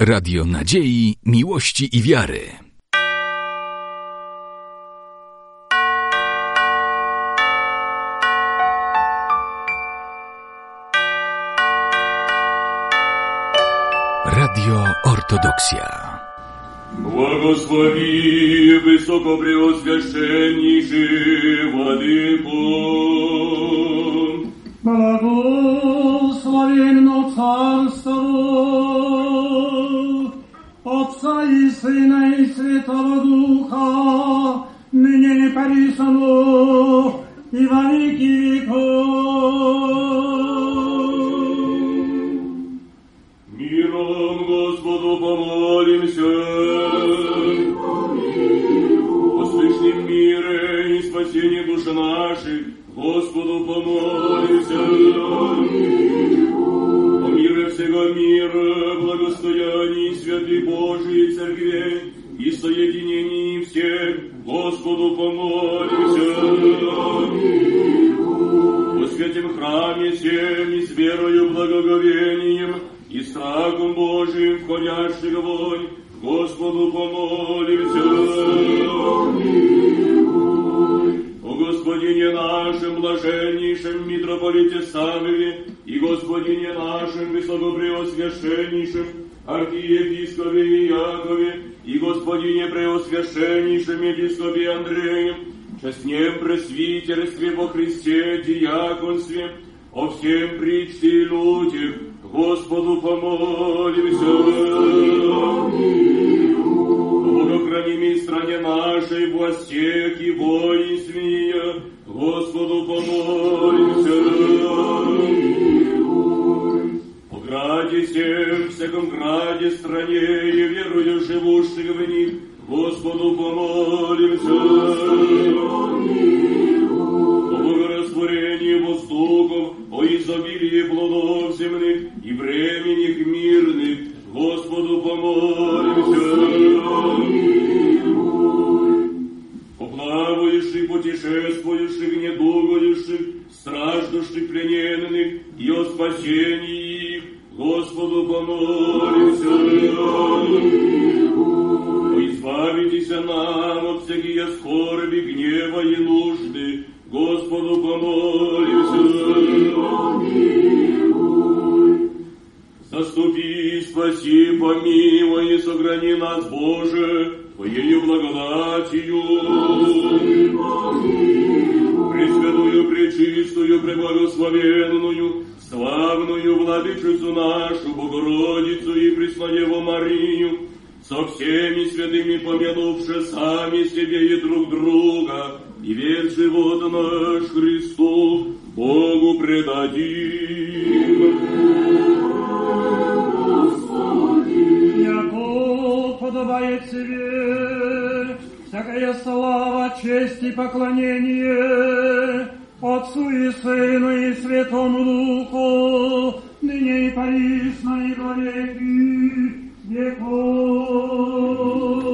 Radio Nadziei, Miłości i Wiary. Radio Ortodoksja. Благослови высокопреосвященнейший Владыку. Благословенно Царство Отца и Сына и Святого Духа, ныне и присно и во веки веков. Миром Господу помолимся. О слышном мире и спасении души наших Господу помолимся. О мире всего мира, благостоянии святых Божией Церкви и соединении всех Господу помолимся. О святем храме всем и с верою, благоговением и страхом Божиим входящих вонь Господу помолимся. О Господине нашем, блаженнейшем митрополите Самове и Господине нашем, высокопреосвященнейшем архиепископе Иакове и Господине преосвященнейшем епископе Андреем, честнем пресвитерстве во Христе, диаконстве, о всем причте и людях, Господу помолимся. Богохранимой стране нашей, властях и воинстве, Господу помолимся. О граде всем, всяком граде, стране и верую живущих в них, Господу помолимся. О богорастворении воздухов, о изобилии плодов земных и временных мирных, Господу помолимся. О плавающих, путешествующих, недугающих, страждущих, плененных и о спасении их, Господу помолимся. О избавитесь нам от всякие скорби, гнева и нужды, Господу помолимся. Заступи, спаси, помилуй и сохрани нас, Боже, Твоею благодатью. Пресвятую, пречистую, преблагословенную, славную Владычицу нашу, Богородицу и Преснодеву Марию, со всеми святыми помянувши сами себе и друг друга, и весь живот наш Христу Богу предадим. Яко подобает себе всякая слава, честь и поклонение Отцу и Сыну и Святому Духу, ныне и присно и во веки веков.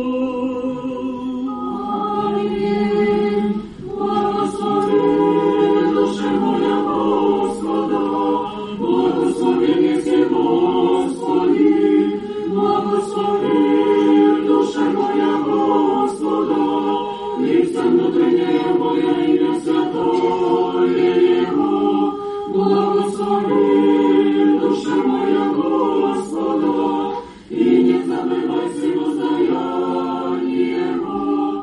Аминь. Благослови душа моя Господа, благослови неси Господи, благослови душа моя Господа, и вся внутренняя моя имя святое Его, благослови душа моя Господа, и не забывай всего воздаяние Его,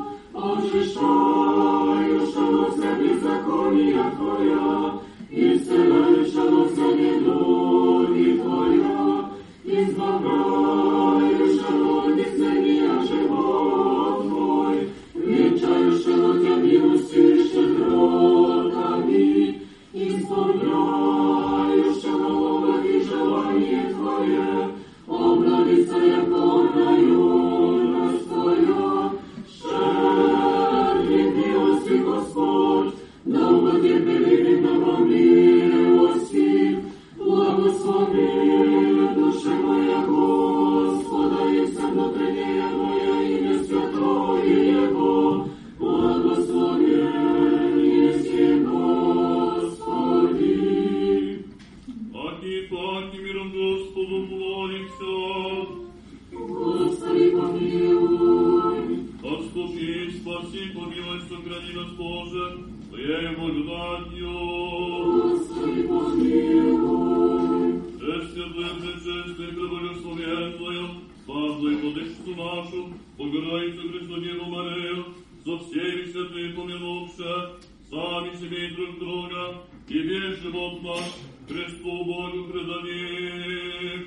очищающегося беззакония Твоя, исцеляющегося недуги Твоя, избавляющего от исцеления живот Твой, венчающего Тебя милостью и щедротами, исполняющего благи желание Твое, обновится яко юность Твоя, щедрый милости Господь, да благотерпеливым добром милости, благослови душа моя Господа, и вся внутренняя моя имя святое Его, благословен еси Господи. Аки миром Господу молимся. благословенную, славную Владычицу нашу, Богородицу Преснодеву Марию, со всеми святыми помянувши, сами себе и друг друга, и весь живот наш Христу Богу предадим.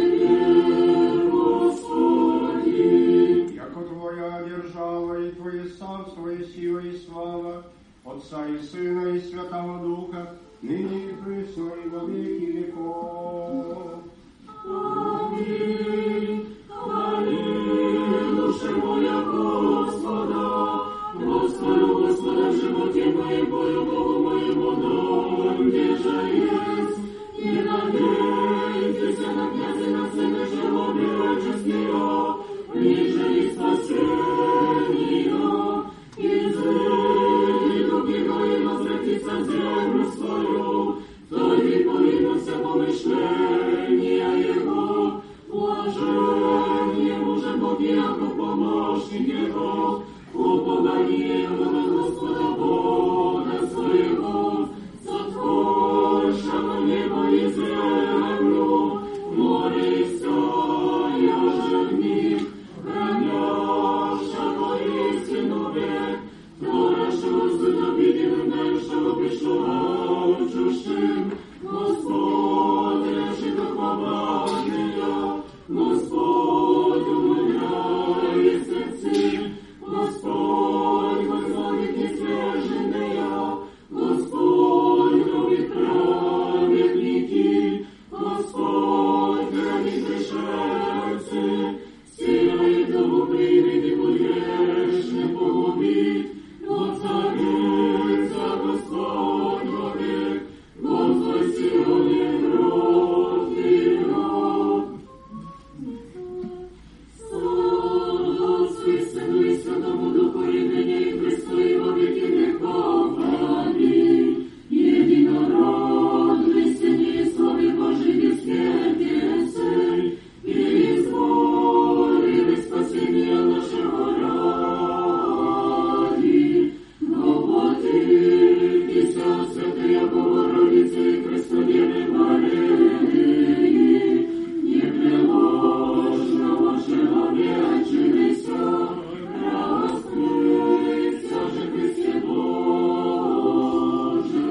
Яко Твоя держава и Твое царство, и сила, и слава, Отца и Сына, и Святого Духа, ныне и присно, и во веки веков. Аминь. Хвали, душа моя Господа, Господу, Господа, в животе моем, Бою Богу моему, дом, где же есть, и надейтесь на князя, на сына живого мирочестия, ниже и спасения, и зрели дуги мои возвратиться в землю свою, то и повинуся помышления его, уважение мужа Бог яко помощник его, упование его на Господа Бога своего, сотворшего небо и землю, море и все, же в них, хранящего истину век, творящего суть обиденным, дающего пришедшим, Господь, реши до хваления, Господь, умоляй сердце, Господь, воззвонит несвеженные, Господь, кровит праведники, Господь, хранит пришельцы, силой дому приведи грешных погубить, воцарится Господь вовек, Господь Сионе грот вперед. Слава Отцу и Сыну и Святому Духу, и ныне и Христу, и во веки веков. Аминь. Единородный Сын и Слове Божий бессмертие Сын, и изволили спасения нашего ради. Воплотитесь, Святая Богородица и Преснодевы Марии, непреложного человечилися, раскрыться же Христе Боже,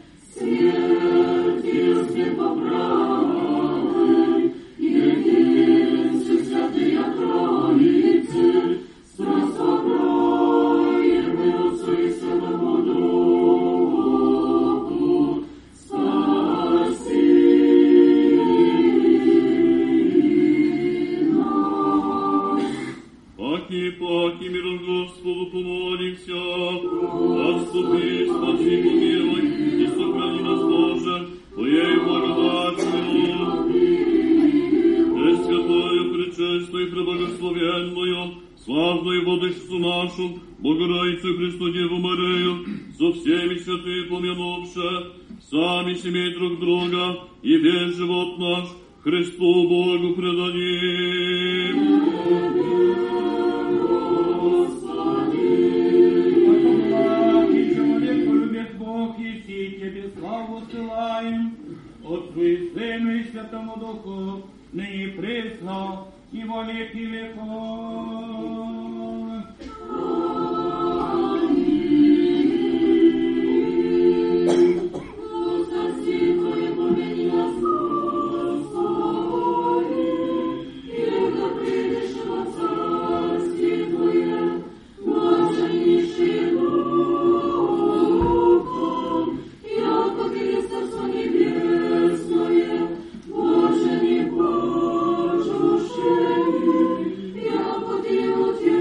смертью смерть поправы, единстве Святая Троицы, спасаем мы Отцу и Святому Духу, спаси нас. Паки, миром Господу помолимся, отступи, спаси, помилуй, и сохрани нас, Боже, Твоей благодатью. Пресвятую, пречестную, преблагословенную, славную Владычицу нашу, Богородицу Христу Деву Марию, со всеми святыми помянувши, сами семей друг друга, и весь живот наш Христу Богу предадим. Славу ссылаем Отцу и Сыну и Святому Духу, ныне и присно, и во веки веков. Боже, не Боже, яко Ты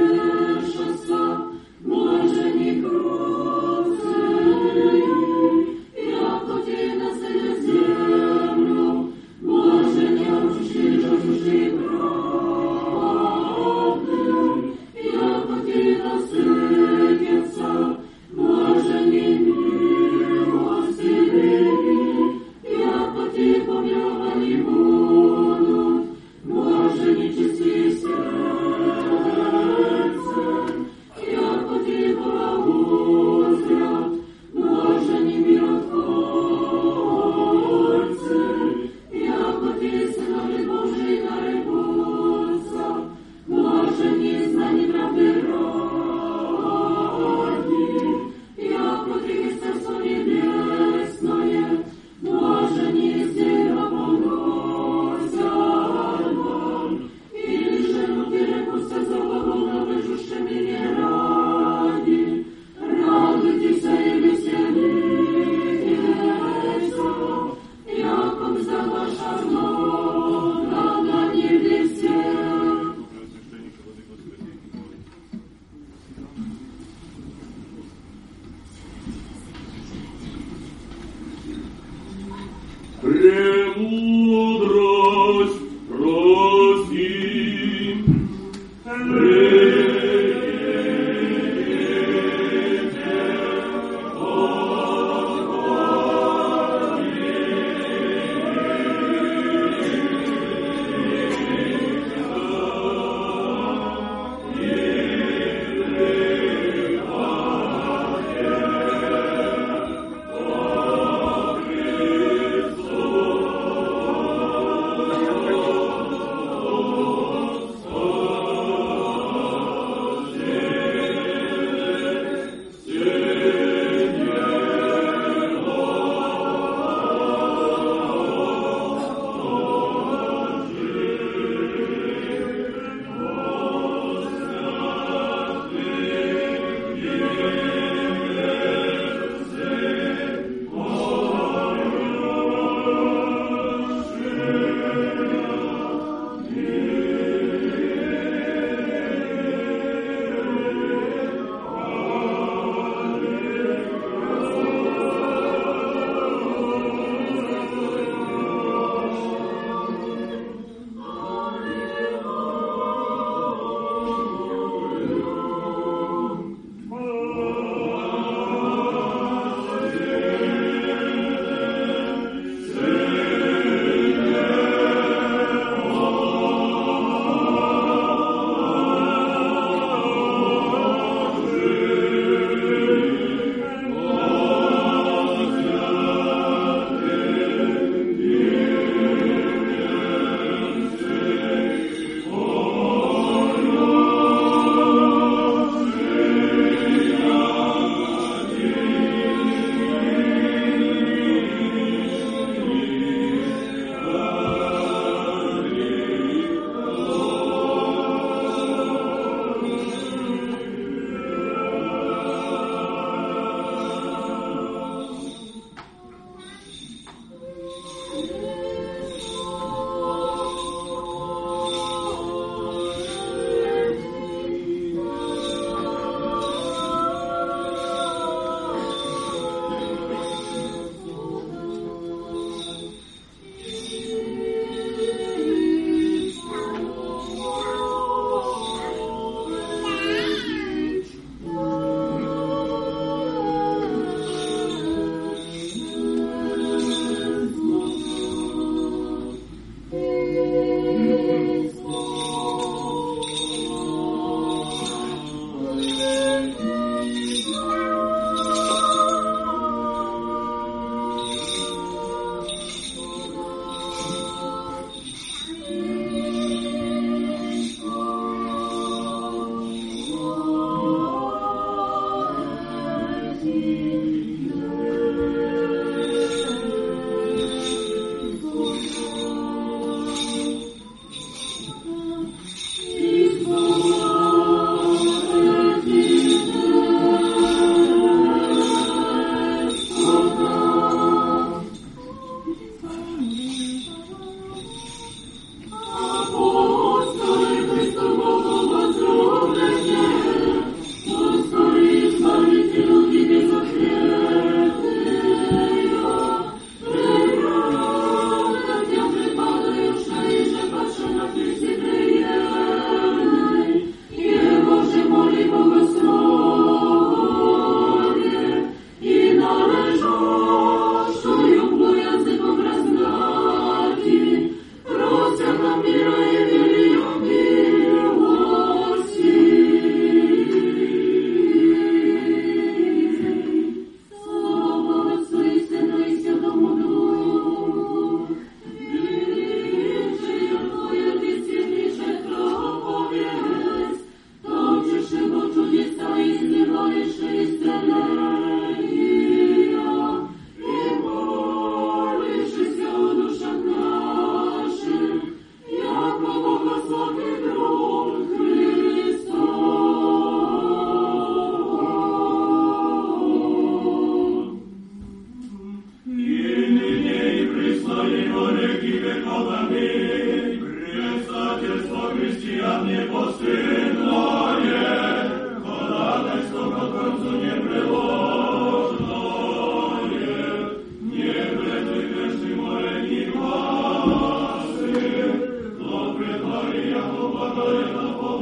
Благая на помощь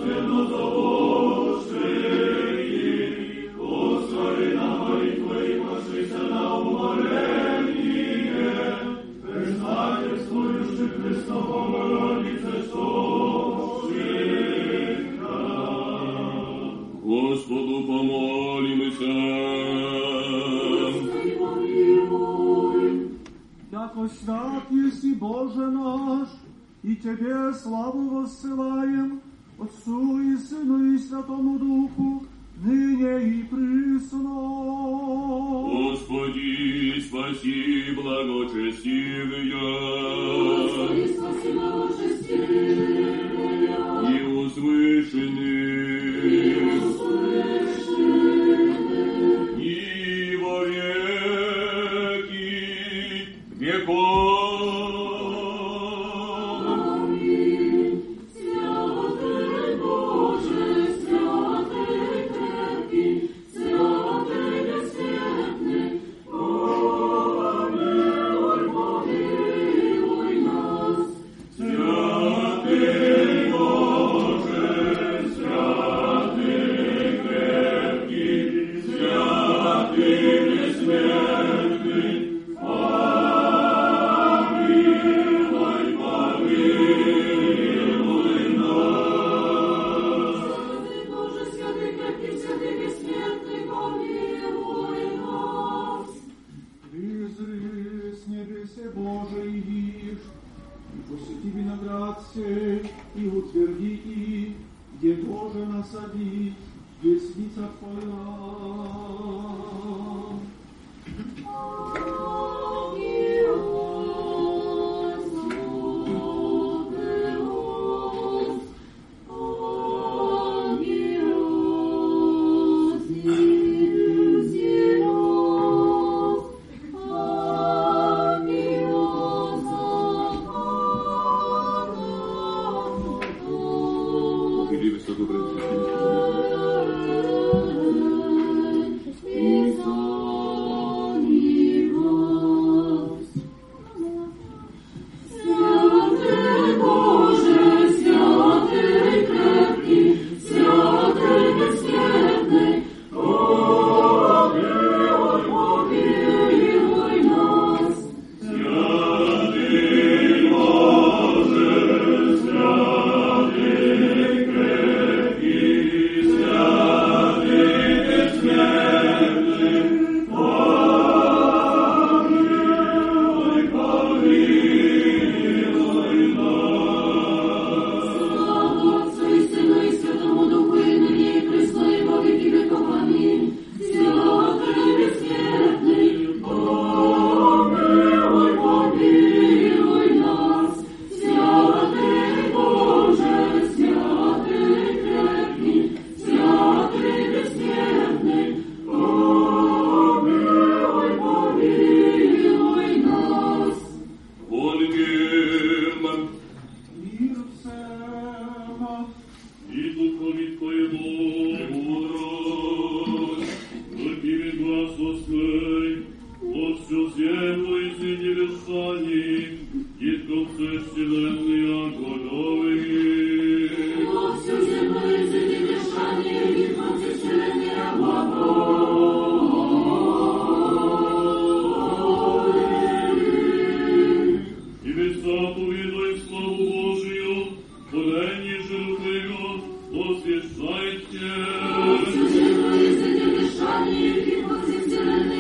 Господу помолимся. Яко свят еси Боже наш, и Тебе славу воссылаем, Отцу и Сыну и Святому Духу, ныне и присно. Господи, спаси благочестивые. Господи, спаси благочестивые. И услышанных. И во веки веков. Аминь. Святый Боже, святый крепкий, святый бессмертный, помилуй, помилуй нас. Святый Боже, святый крепкий, святый бессмертный, помилуй, помилуй нас. Святый Боже, святый крепкий, святый бессмертный, помилуй нас. Призри с небесе Боже и вишь, и посети виноград сей, и утверди их, где Боже насади, десница Твоя. Или высокопресвященнейший Святый Боже, святый крепкий, святый бессмертный, помилуй, помилуй нас. Святый Боже, святый крепкий, святый бессмертный, помилуй, помилуй нас. Слава Отцу и Сыну и Святому Духу, и ныне и присно, и во веки веков. Аминь. Святый бессмертный, помилуй, помилуй нас. Святый Боже, святый крепкий, святый бессмертный, помилуй, помилуй нас. Молим. Мир всем. И духові Твоєму мудрость, терпимый глаз восьмой, от всю землю и среди лишаний, и конце вселенной огоневые. Во всю землю и среди лишаний, и конце вселенной огоневые. И высоту видой славу Божию, творение живого, освящайте. Во всю землю и среди лишаний, и конце вселенной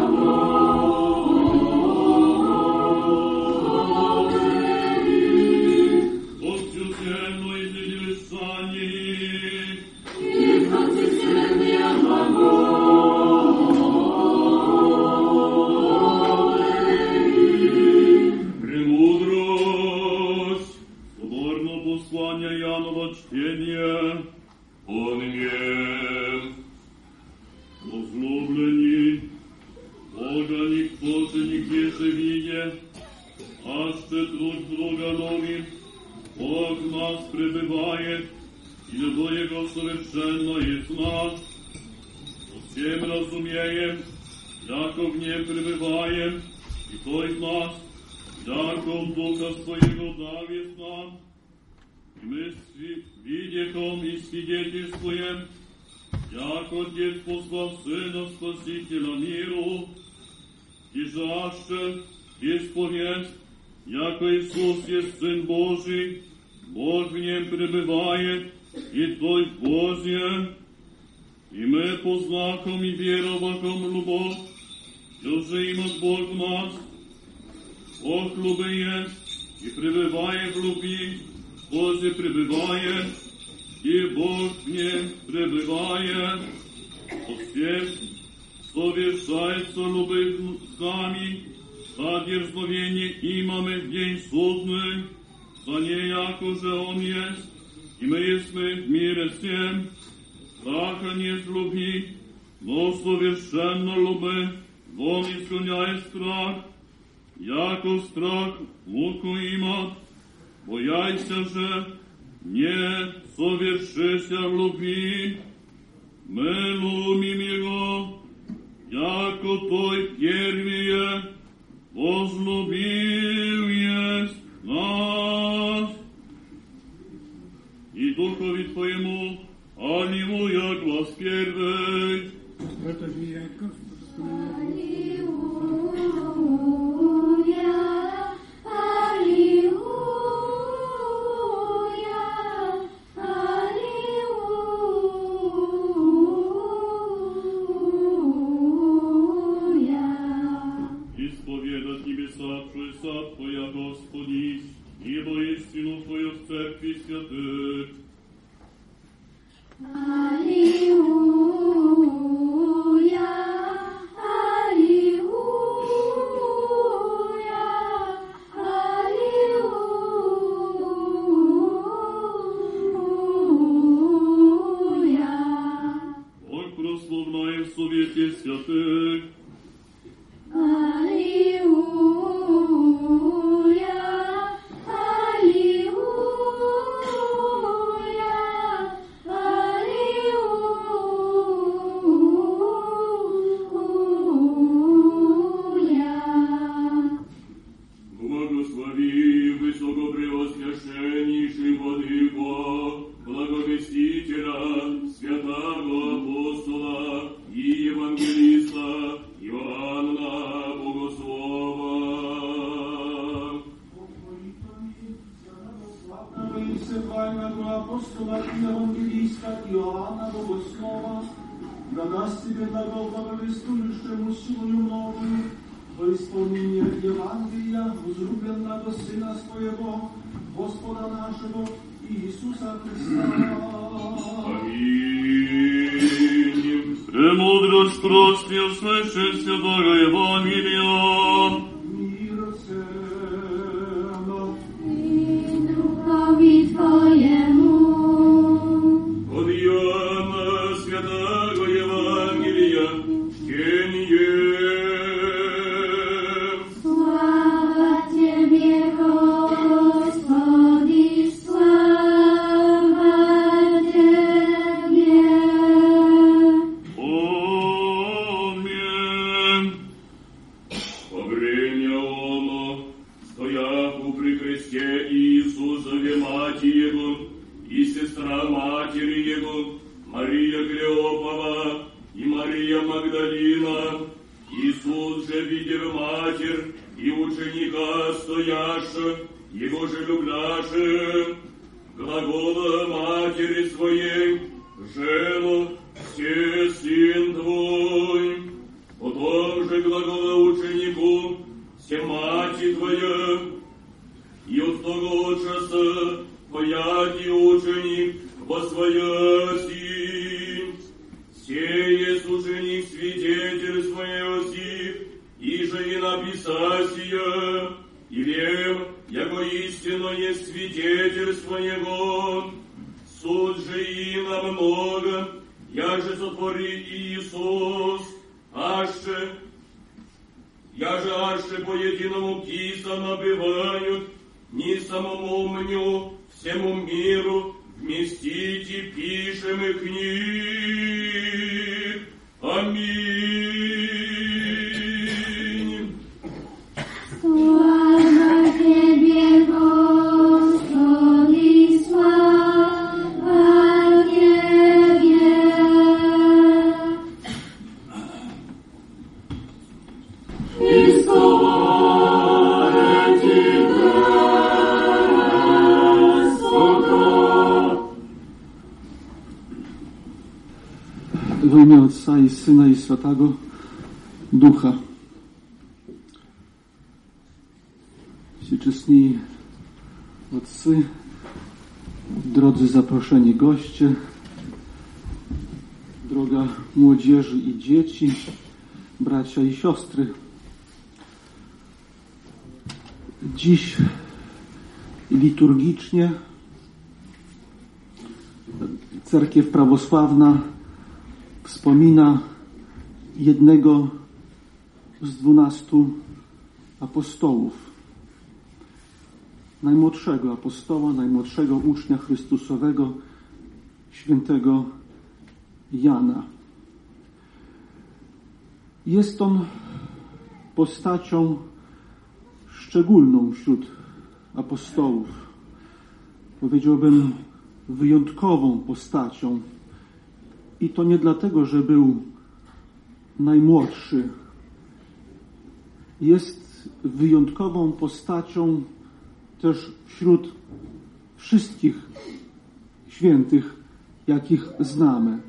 огоневые. От всю землю и среди лишаний, И конце вселенной огоневые. премудрость, соборно послание Янова чтение, онемем, возлюблені, Бога никто же нигде живее, аще труд друга новым, Бог в нас пребывает, и любовь Его совершенно есть в нас. Всем разумеем, яко в нем пребываем, и то из нас, яко в Духа Своего давит нам, Мы видехом и свидетельствуем, як Отец послал Сына Спасителя миру, и жажде исповесть, яко Иисус есть Сын Божий, Бог в нем пребывает, и Той в Бозе, и мы по знакам и вероваком любовь, уже имат Бог в нас, Бог любы есть, и пребывает в любви, Бозе пребывает, и Бог в нем пребывает. По всем совершается любовь с нами, за дерзновение имаме в день судный, за неяко же Он есть, и мы есть в мире всем, страха нет любви, но совершенно любовь, вон изгоняет страх, яко страх муку имат, бояйся же, не совершися в любви, мы любим Его, яко Той первее возлюбил есть нас. И Духови Твоему, аллилуйя, глас первый. Твоя, Господи, ибо истину Твою в церкви святых. Аллилуйя, аллилуйя, аллилуйя. Бог прославляем в совете святых. апостола и евангелиста Иоанна Богослова, да даст тебе благо благовествующему силою новую во исполнение Евангелия, возлюбленного Сына Своего, Господа нашего Иисуса Христа. Аминь. Премудрость прости, услыши святого Евангелия. Мир всем. И духови Твоему. От Иоанна святого Евангелия чтение. Слава Тебе, Господи, слава Тебе. Аминь. Во время оно, стояху при кресте Иисусове мать Его и сестра матери Его, Мария Клеопова и Мария Магдалина, Иисус же, видев матерь и ученика стоящих, Его же любляши, глагола матери своей, «Жено, все сын твой». Потом же глагола ученику, «Все мати твоя». И от того часа пояти ученик восвояси. Сеет ученик свидетель своеси, и же и написасия, и вем, яко истинно есть свидетель своего. Суд же и намного, яже сотвори Иисус, аще по единому киса набивают, ни самому мню, всему миру, вместите, пишем и книг. Аминь. Слава Тебе, Господи, слава W imię Ojca i Syna i Świętego Ducha. Wszyscy Otcy, drodzy zaproszeni goście, droga młodzieży i dzieci, bracia i siostry. Dziś liturgicznie Cerkiew Prawosławna wspomina jednego z 12 apostołów. Najmłodszego apostoła, najmłodszego ucznia Chrystusowego, świętego Jana. Jest on postacią szczególną wśród apostołów. Powiedziałbym wyjątkową postacią. I to nie dlatego, że był najmłodszy. Jest wyjątkową postacią też wśród wszystkich świętych, jakich znamy.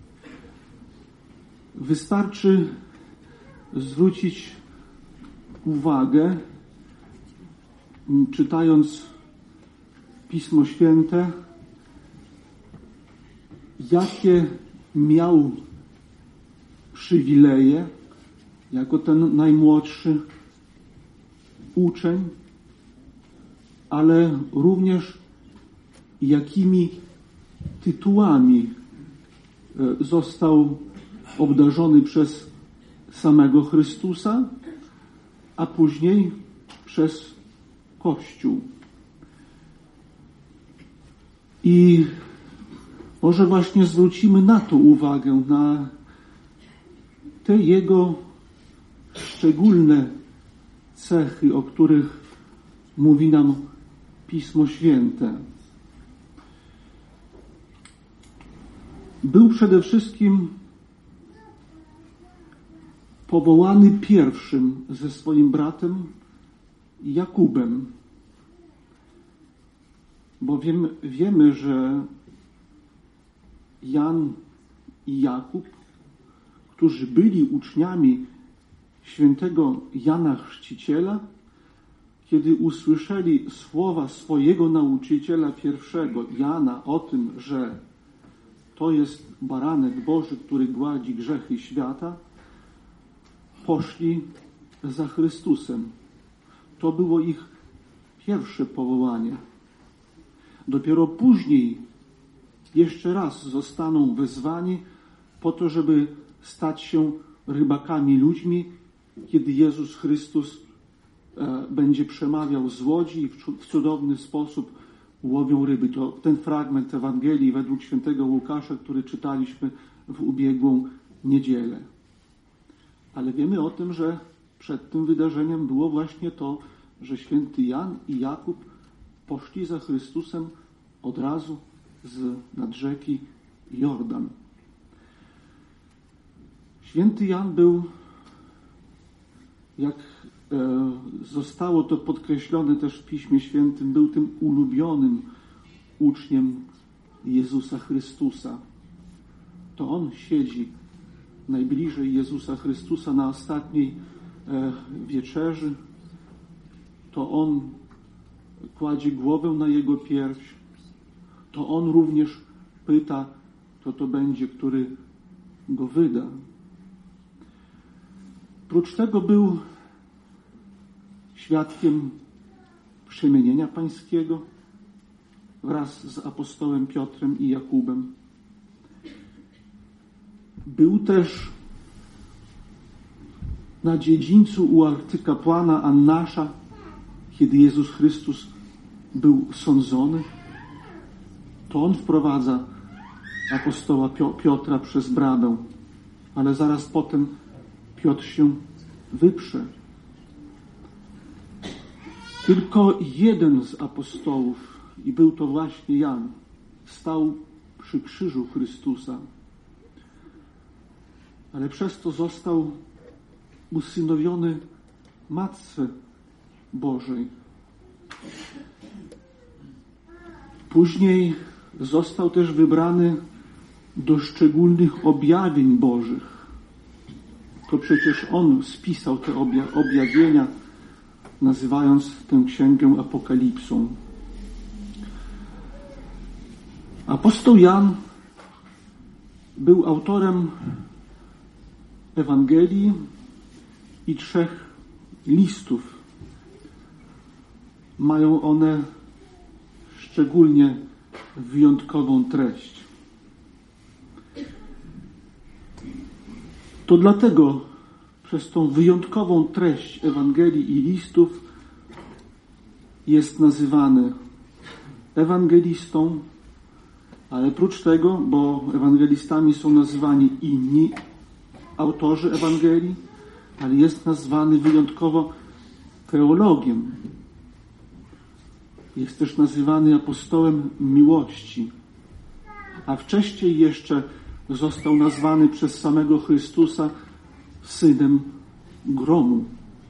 Wystarczy zwrócić uwagę, czytając Pismo Święte, jakie miał przywileje jako ten najmłodszy uczeń, ale również jakimi tytułami został obdarzony przez samego Chrystusa, a później przez Kościół. I może właśnie zwrócimy na to uwagę, na te jego szczególne cechy, o których mówi nam Pismo Święte. Był przede wszystkim powołany pierwszym ze swoim bratem Jakubem, bowiem wiemy, że Jan i Jakub, którzy byli uczniami świętego Jana Chrzciciela, kiedy usłyszeli słowa swojego nauczyciela pierwszego, Jana, o tym, że to jest baranek Boży, który gładzi grzechy świata, poszli za Chrystusem. To było ich pierwsze powołanie. Dopiero później jeszcze raz zostaną wezwani po to, żeby stać się rybakami ludźmi, kiedy Jezus Chrystus będzie przemawiał z łodzi i w cudowny sposób łowią ryby. To ten fragment Ewangelii według świętego Łukasza, który czytaliśmy w ubiegłą niedzielę. Ale wiemy o tym, że przed tym wydarzeniem było właśnie to, że święty Jan i Jakub poszli za Chrystusem od razu nad rzeki Jordan. Święty Jan był, jak zostało to podkreślone też w Piśmie Świętym, był tym ulubionym uczniem Jezusa Chrystusa. To on siedzi najbliżej Jezusa Chrystusa na ostatniej wieczerzy. To on kładzie głowę na jego pierś. To on również pyta, kto to będzie, który go wyda. Prócz tego był świadkiem przemienienia pańskiego wraz z apostołem Piotrem i Jakubem. Był też na dziedzińcu u arcykapłana Annasza, kiedy Jezus Chrystus był sądzony. To on wprowadza apostoła Piotra przez bramę, ale zaraz potem Piotr się wyprze. Tylko jeden z apostołów, i był to właśnie Jan, stał przy krzyżu Chrystusa, ale przez to został usynowiony Matce Bożej. Później został też wybrany do szczególnych objawień Bożych. To przecież On spisał te objawienia, nazywając tę księgę Apokalipsą. Apostoł Jan był autorem Ewangelii i 3 listów. Mają one szczególnie wyjątkową treść. To dlatego przez tą wyjątkową treść Ewangelii i listów jest nazywany ewangelistą, ale prócz tego, bo ewangelistami są nazywani inni autorzy Ewangelii, ale jest nazwany wyjątkowo teologiem. Jest też nazywany apostołem miłości, a wcześniej jeszcze został nazwany przez samego Chrystusa synem gromu.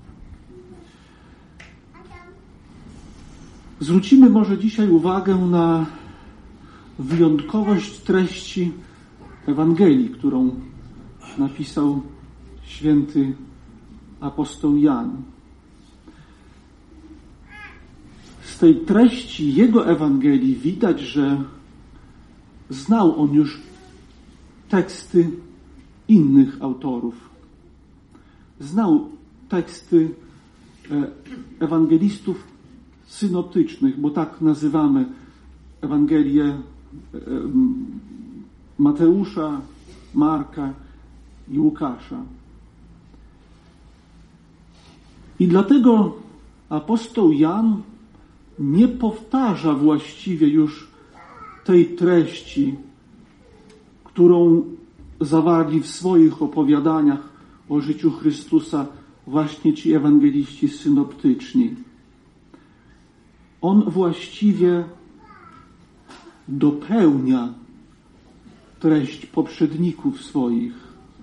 Zwrócimy może dzisiaj uwagę na wyjątkowość treści Ewangelii, którą napisał święty apostoł Jan. Z tej treści jego Ewangelii widać, że znał on już teksty innych autorów. Znał teksty ewangelistów synoptycznych, bo tak nazywamy Ewangelię Mateusza, Marka i Łukasza. I dlatego apostoł Jan nie powtarza właściwie już tej treści, którą zawarli w swoich opowiadaniach o życiu Chrystusa właśnie ci ewangeliści synoptyczni. On właściwie dopełnia treść poprzedników swoich.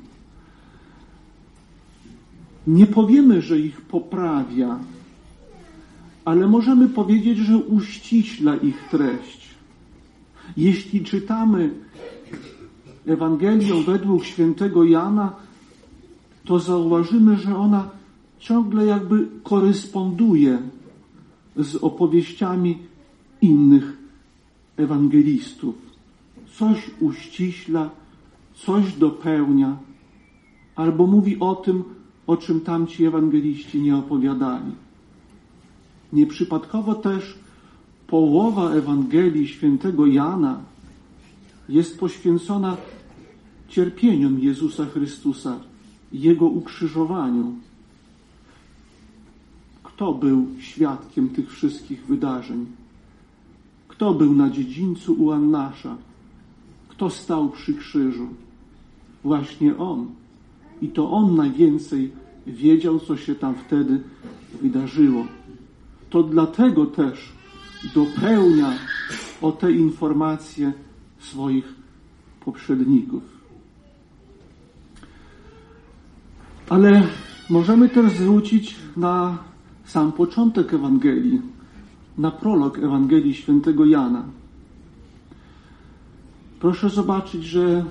Nie powiemy, że ich poprawia, ale możemy powiedzieć, że uściśla ich treść. Jeśli czytamy Ewangelię według świętego Jana, to zauważymy, że ona ciągle jakby koresponduje z opowieściami innych ewangelistów. Coś uściśla, coś dopełnia, albo mówi o tym, o czym tamci ewangeliści nie opowiadali. Nieprzypadkowo też połowa Ewangelii świętego Jana jest poświęcona cierpieniom Jezusa Chrystusa, Jego ukrzyżowaniu. Kto był świadkiem tych wszystkich wydarzeń? Kto był na dziedzińcu u Annasza? Kto stał przy krzyżu? Właśnie On. I to On najwięcej wiedział, co się tam wtedy wydarzyło. To dlatego też dopełnia o te informacje swoich poprzedników. Ale możemy też zwrócić na sam początek Ewangelii, na prolog Ewangelii świętego Jana. Proszę zobaczyć, że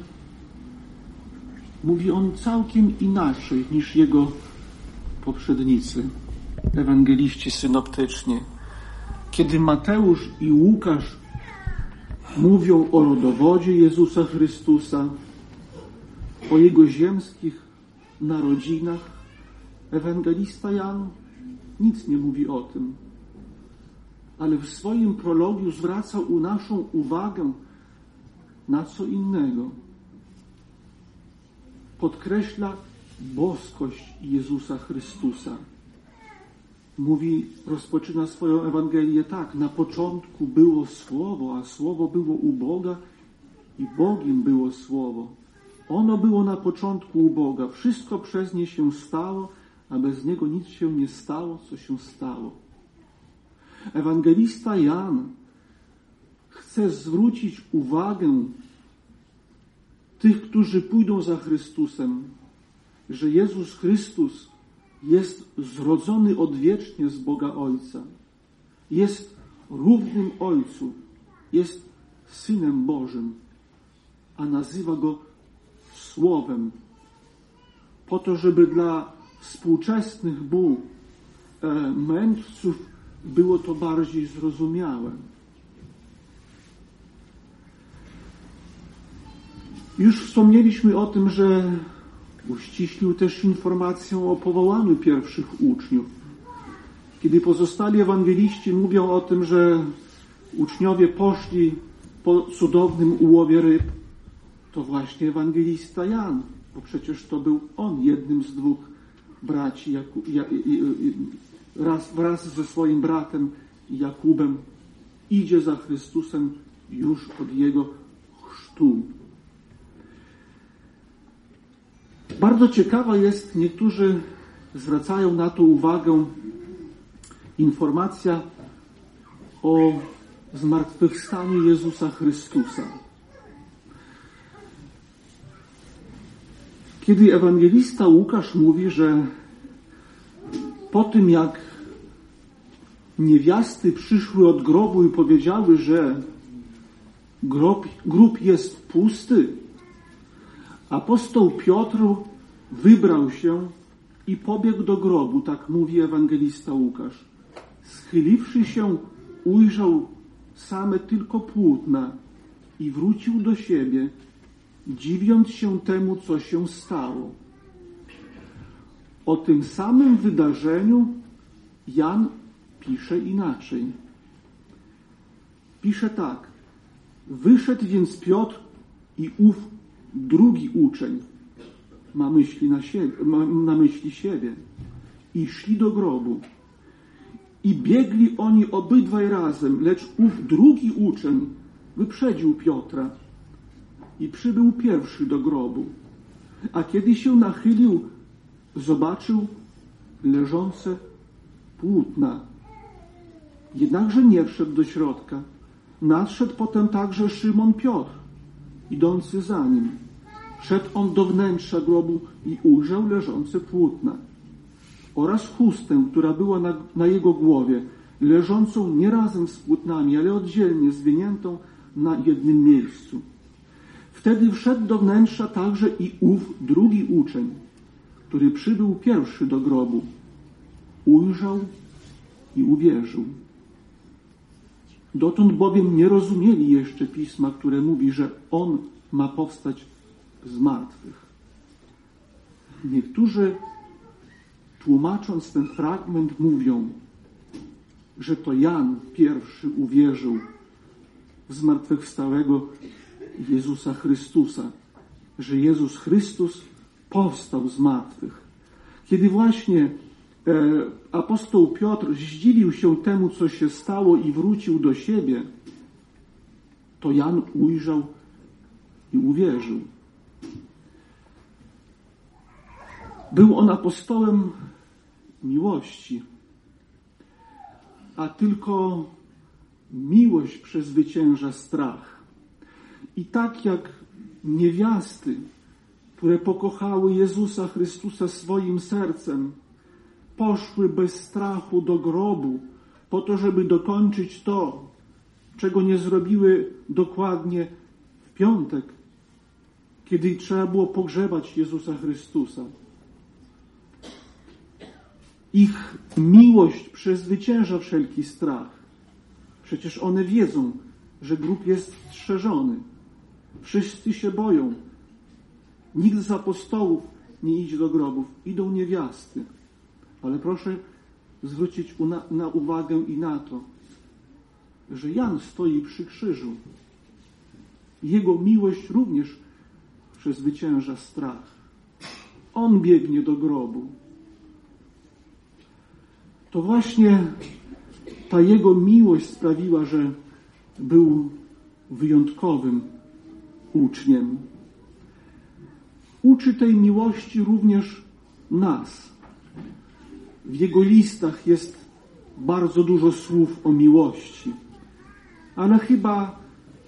mówi on całkiem inaczej niż jego poprzednicy, ewangeliści synoptyczni. Kiedy Mateusz i Łukasz mówią o rodowodzie Jezusa Chrystusa, o Jego ziemskich narodzinach, ewangelista Jan nic nie mówi o tym. Ale w swoim prologu zwraca naszą uwagę na co innego. Podkreśla boskość Jezusa Chrystusa. Rozpoczyna swoją Ewangelię tak: na początku było Słowo, a Słowo było u Boga i Bogiem było Słowo. Ono było na początku u Boga. Wszystko przez nie się stało, a bez niego nic się nie stało, co się stało. Ewangelista Jan chce zwrócić uwagę tych, którzy pójdą za Chrystusem, że Jezus Chrystus jest zrodzony odwiecznie z Boga Ojca. Jest równym Ojcu. Jest Synem Bożym. a nazywa go Słowem, po to, żeby dla współczesnych mędrców było to bardziej zrozumiałe. Już wspomnieliśmy o tym, że uściślił też informację o powołaniu pierwszych uczniów. Kiedy pozostali ewangeliści mówią o tym, że uczniowie poszli po cudownym ułowie ryb, to właśnie ewangelista Jan, bo przecież to był on jednym z dwóch braci, wraz ze swoim bratem Jakubem idzie za Chrystusem już od jego chrztu. Bardzo ciekawa jest, niektórzy zwracają na to uwagę, informacja o zmartwychwstaniu Jezusa Chrystusa. Kiedy ewangelista Łukasz mówi, że po tym jak niewiasty przyszły od grobu i powiedziały, że grób jest pusty, apostoł Piotr wybrał się i pobiegł do grobu, tak mówi ewangelista Łukasz. Schyliwszy się, ujrzał same tylko płótna i wrócił do siebie, dziwiąc się temu, co się stało. O tym samym wydarzeniu Jan pisze inaczej. Pisze tak. Wyszedł więc Piotr i ów drugi uczeń, ma myśli siebie, i szli do grobu. I biegli oni obydwaj razem, lecz ów drugi uczeń wyprzedził Piotra i przybył pierwszy do grobu. A kiedy się nachylił, zobaczył leżące płótna. Jednakże nie wszedł do środka. Nadszedł potem także Szymon Piotr, idący za nim. Szedł on do wnętrza grobu i ujrzał leżące płótna oraz chustę, która była na jego głowie, leżącą nie razem z płótnami, ale oddzielnie, zwiniętą na jednym miejscu. Wtedy wszedł do wnętrza także i ów drugi uczeń, który przybył pierwszy do grobu. Ujrzał i uwierzył. Dotąd bowiem nie rozumieli jeszcze Pisma, które mówi, że On ma powstać z martwych. Niektórzy, tłumacząc ten fragment, mówią, że to Jan pierwszy uwierzył w zmartwychwstałego Jezusa Chrystusa, że Jezus Chrystus powstał z martwych. Kiedy właśnie apostoł Piotr zdziwił się temu, co się stało i wrócił do siebie, to Jan ujrzał i uwierzył. Był on apostołem miłości, a tylko miłość przezwycięża strach. I tak jak niewiasty, które pokochały Jezusa Chrystusa swoim sercem, poszły bez strachu do grobu, po to, żeby dokończyć to, czego nie zrobiły dokładnie w piątek, kiedy trzeba było pogrzebać Jezusa Chrystusa. Ich miłość przezwycięża wszelki strach. Przecież one wiedzą, że grób jest strzeżony. Wszyscy się boją. Nikt z apostołów nie idzie do grobów. Idą niewiasty. Ale proszę zwrócić na uwagę i na to, że Jan stoi przy krzyżu. Jego miłość również przezwycięża strach. On biegnie do grobu. To właśnie ta jego miłość sprawiła, że był wyjątkowym uczniem. Uczy tej miłości również nas. W jego listach jest bardzo dużo słów o miłości, ale chyba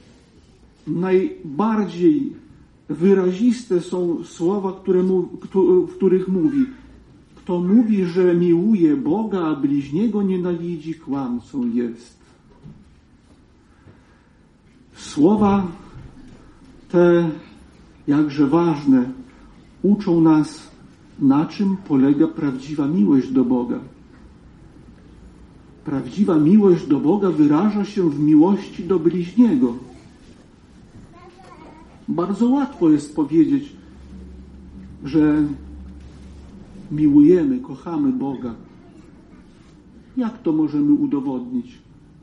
najbardziej wyraziste są słowa, w których mówi: kto mówi, że miłuje Boga, a bliźniego nienawidzi, kłamcą jest. Słowa te jakże ważne uczą nas, na czym polega prawdziwa miłość do Boga. Prawdziwa miłość do Boga wyraża się w miłości do bliźniego. Bardzo łatwo jest powiedzieć, że miłujemy, kochamy Boga. Jak to możemy udowodnić?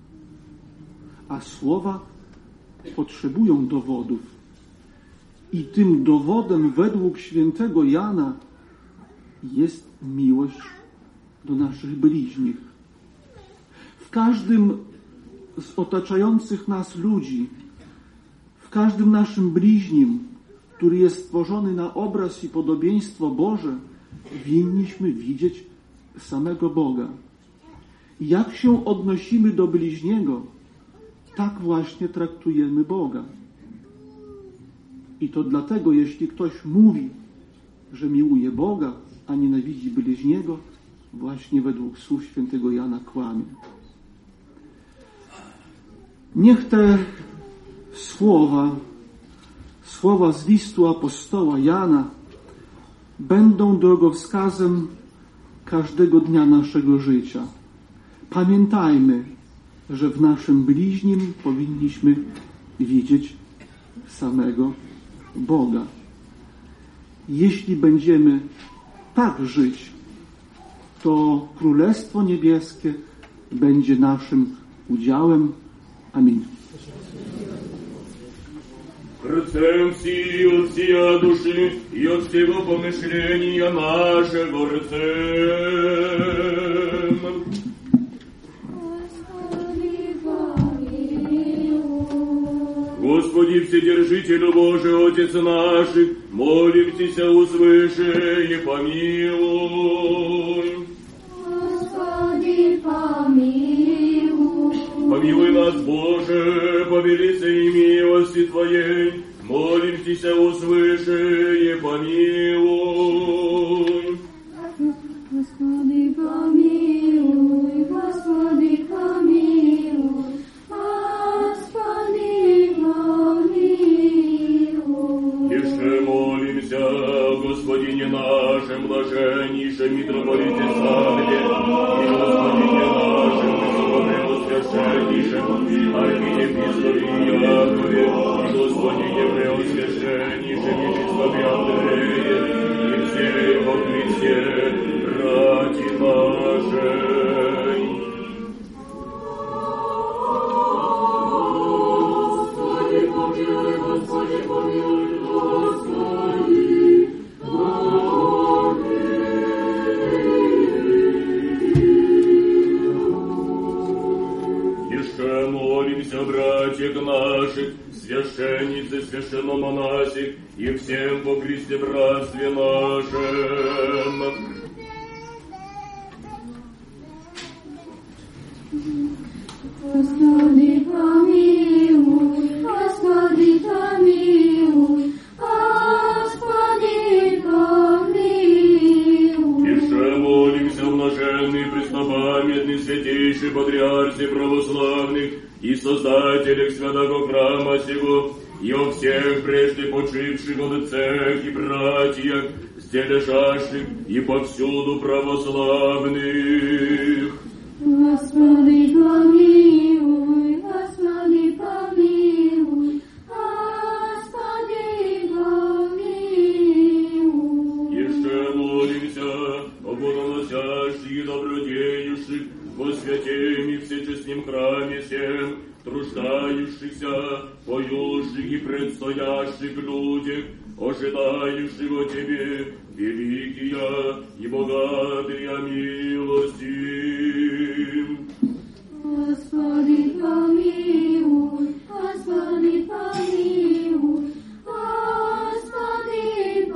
A słowa potrzebują dowodów. I tym dowodem według świętego Jana jest miłość do naszych bliźnich. W każdym z otaczających nas ludzi, w każdym naszym bliźnim, który jest stworzony na obraz i podobieństwo Boże, winniśmy widzieć samego Boga. I jak się odnosimy do bliźniego, tak właśnie traktujemy Boga. I to dlatego, jeśli ktoś mówi, że miłuje Boga, a nienawidzi bliźniego, właśnie według słów świętego Jana kłamie. Niech te słowa z listu apostoła Jana będą drogowskazem każdego dnia naszego życia. Pamiętajmy, że w naszym bliźnim powinniśmy widzieć samego Boga. Jeśli będziemy tak żyć, to Królestwo Niebieskie będzie naszym udziałem. Amin. Рцем всі от всія душі і от всього помишлення нашого рцем. Господи, Вседержителю Божий, Отец наших, молимся услыши и помилуй. Господи, помилуй. Помилуй нас, Боже, по великой милости Твоей, молимся услыши и помилуй. Господи, помилуй, Господи, помилуй, Господи, помилуй. Еще молимся о Господине нашем, блаженнейшем митрополите Савле, и Господине нашем, Высокопреосвященнейшем, архиепископе Якове, и Господине Преосвященнейшем епископе Андрее, и всех во Христе, братья наши. Господи, помилуй, Господи, помилуй, Господи, Еще молимся, братьях наших, священницы, священномонасих, и всем во Христе братстве нашем. Господи, помилуй, Господи, помилуй, Господи, помилуй. Еще молимся, блаженный, преснопамятный, святейший патриарсе православных и создателях святого храма сего, и о всех прежде почивших отцах и братьях, стележащих и повсюду православных. Господи, помилуй, Господи, помилуй, Господи, помилуй. Еще молимся о богоносящих и добродеющих во святем и всечестном храме всем, труждающихся, поющих и предстоящих людях, ожидающих о Тебе великие и богатые милости. Господи, помилуй, Господи, помилуй, Господи,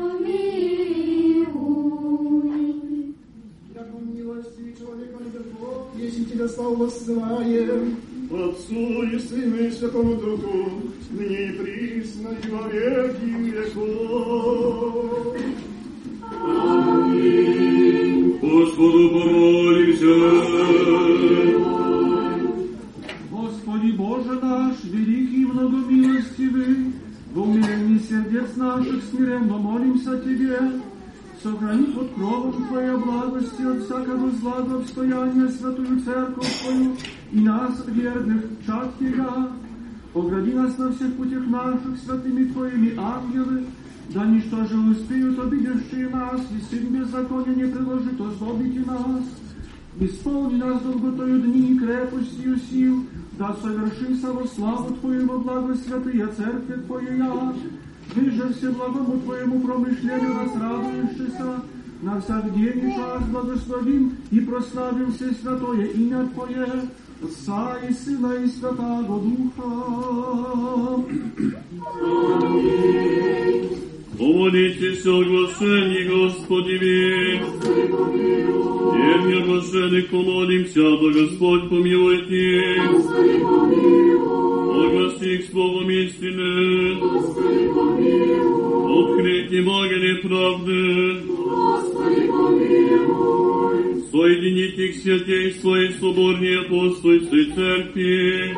помилуй. Яко милости человека любовь, если Тебя славу воссылаем, Отцу и Сыну и Святому Духу, ныне и присно и во веки веков. Аминь. Господу помолимся. Господи Боже наш, великий и многомилостивый, В умилении сердец наших смиренно молимся Тебе. Сохрани под кровом Твоей благости от всякого зла до обстояния святую церковь Твою и нас, верных, чад Тебя. Огради нас на всех путях наших святыми Твоими ангелы, да ничто же успеют обидевшие нас, и сын беззакония не приложит озлобить и нас. Исполни нас долготою дни и крепостью сил, да совершимся во славу Твою во благо святые церкви Твоя. Выже всеблагому Твоему промышлению нас радующийся, на всяк день и час благословим и прославим все святое имя Твое, Отца и Сына и Святаго Духа. Помолитесь о оглашении, Господи, Верни оглашенных помолимся, да Господь помилует их. Огласи их словом истины. Открыть Евангелие правды. Соединить их святей своей соборней апостольской церкви.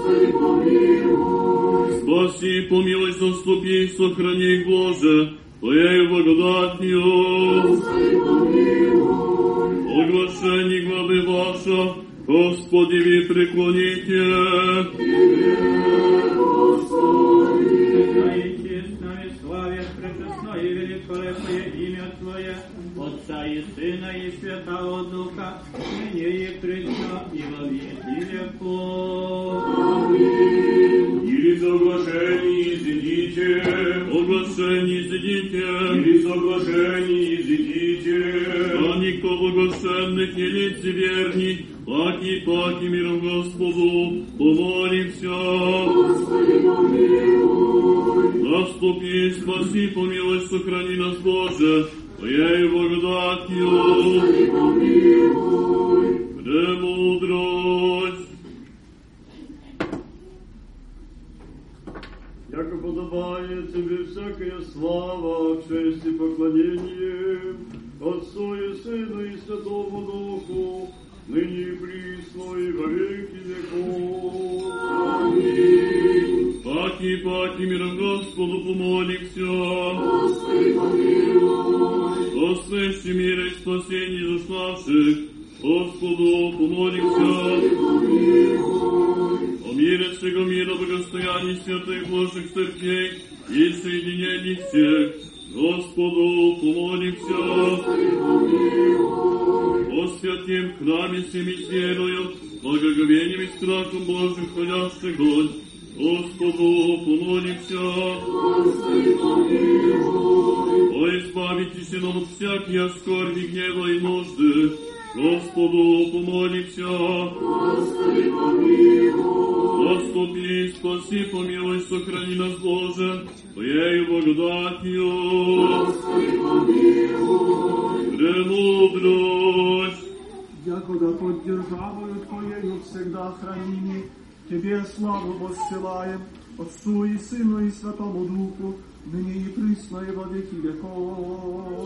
Спаси, помилуй, заступи, сохрани их, Боже, Твоею благодатью. Оглашение главы ваша, Господи, ви преклоните. Отца и Сына и Святого Духа, ныне и присно, и во веки веков. Аминь. Или соглашение изыдите, оглашение изыдите, или соглашение изыдите. А никто благословенных и лицеверний, паки миром Господу, помолимся. Господи, помилуй. Наступи, спаси, помилуй, сохрани нас, Боже, Твоею благодатью. Господи, помилуй. Премудрость. Яко подобает Тебе всякая слава, честь и поклонение Отцу и Сыну и Святому Духу, ныне и присно и во веки веков. Аминь. Паки миром Господу помолимся. Господи, помилуй. О свящем мире и спасении душ наших, Господу помолимся. Господи, помилуй. О мире всего мира, благостоянии святых Божьих церквей и соединении всех, Господу помолимся. Господи, помилуй. О святем храме всеми с верою, благоговением и страхом Божьим ходящих год, Господу помолимся. Господи, помилуй. О избавитесь нам от всякие скорби, гнева и нужды, Господу помолимся. Господи, помилуй. Заступи, спаси, помилуй, сохрани нас, Боже, Твоею благодатью. Господи, помилуй. Премудрость. Якуда под державою Твоею всегда храними, Тебе славу воссылаем, Отцу и Сыну и Святому Духу, ныне и присно и во веки веков.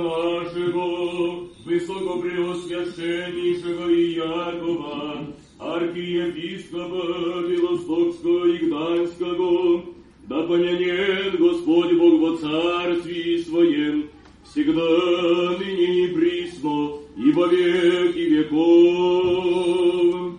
нашего, высокопреосвященнейшего Иакова, архиепископа Белостокского и Гданьского, да помянет Господь Бог во царстве Своем, всегда, ныне и присно, и во веки веков.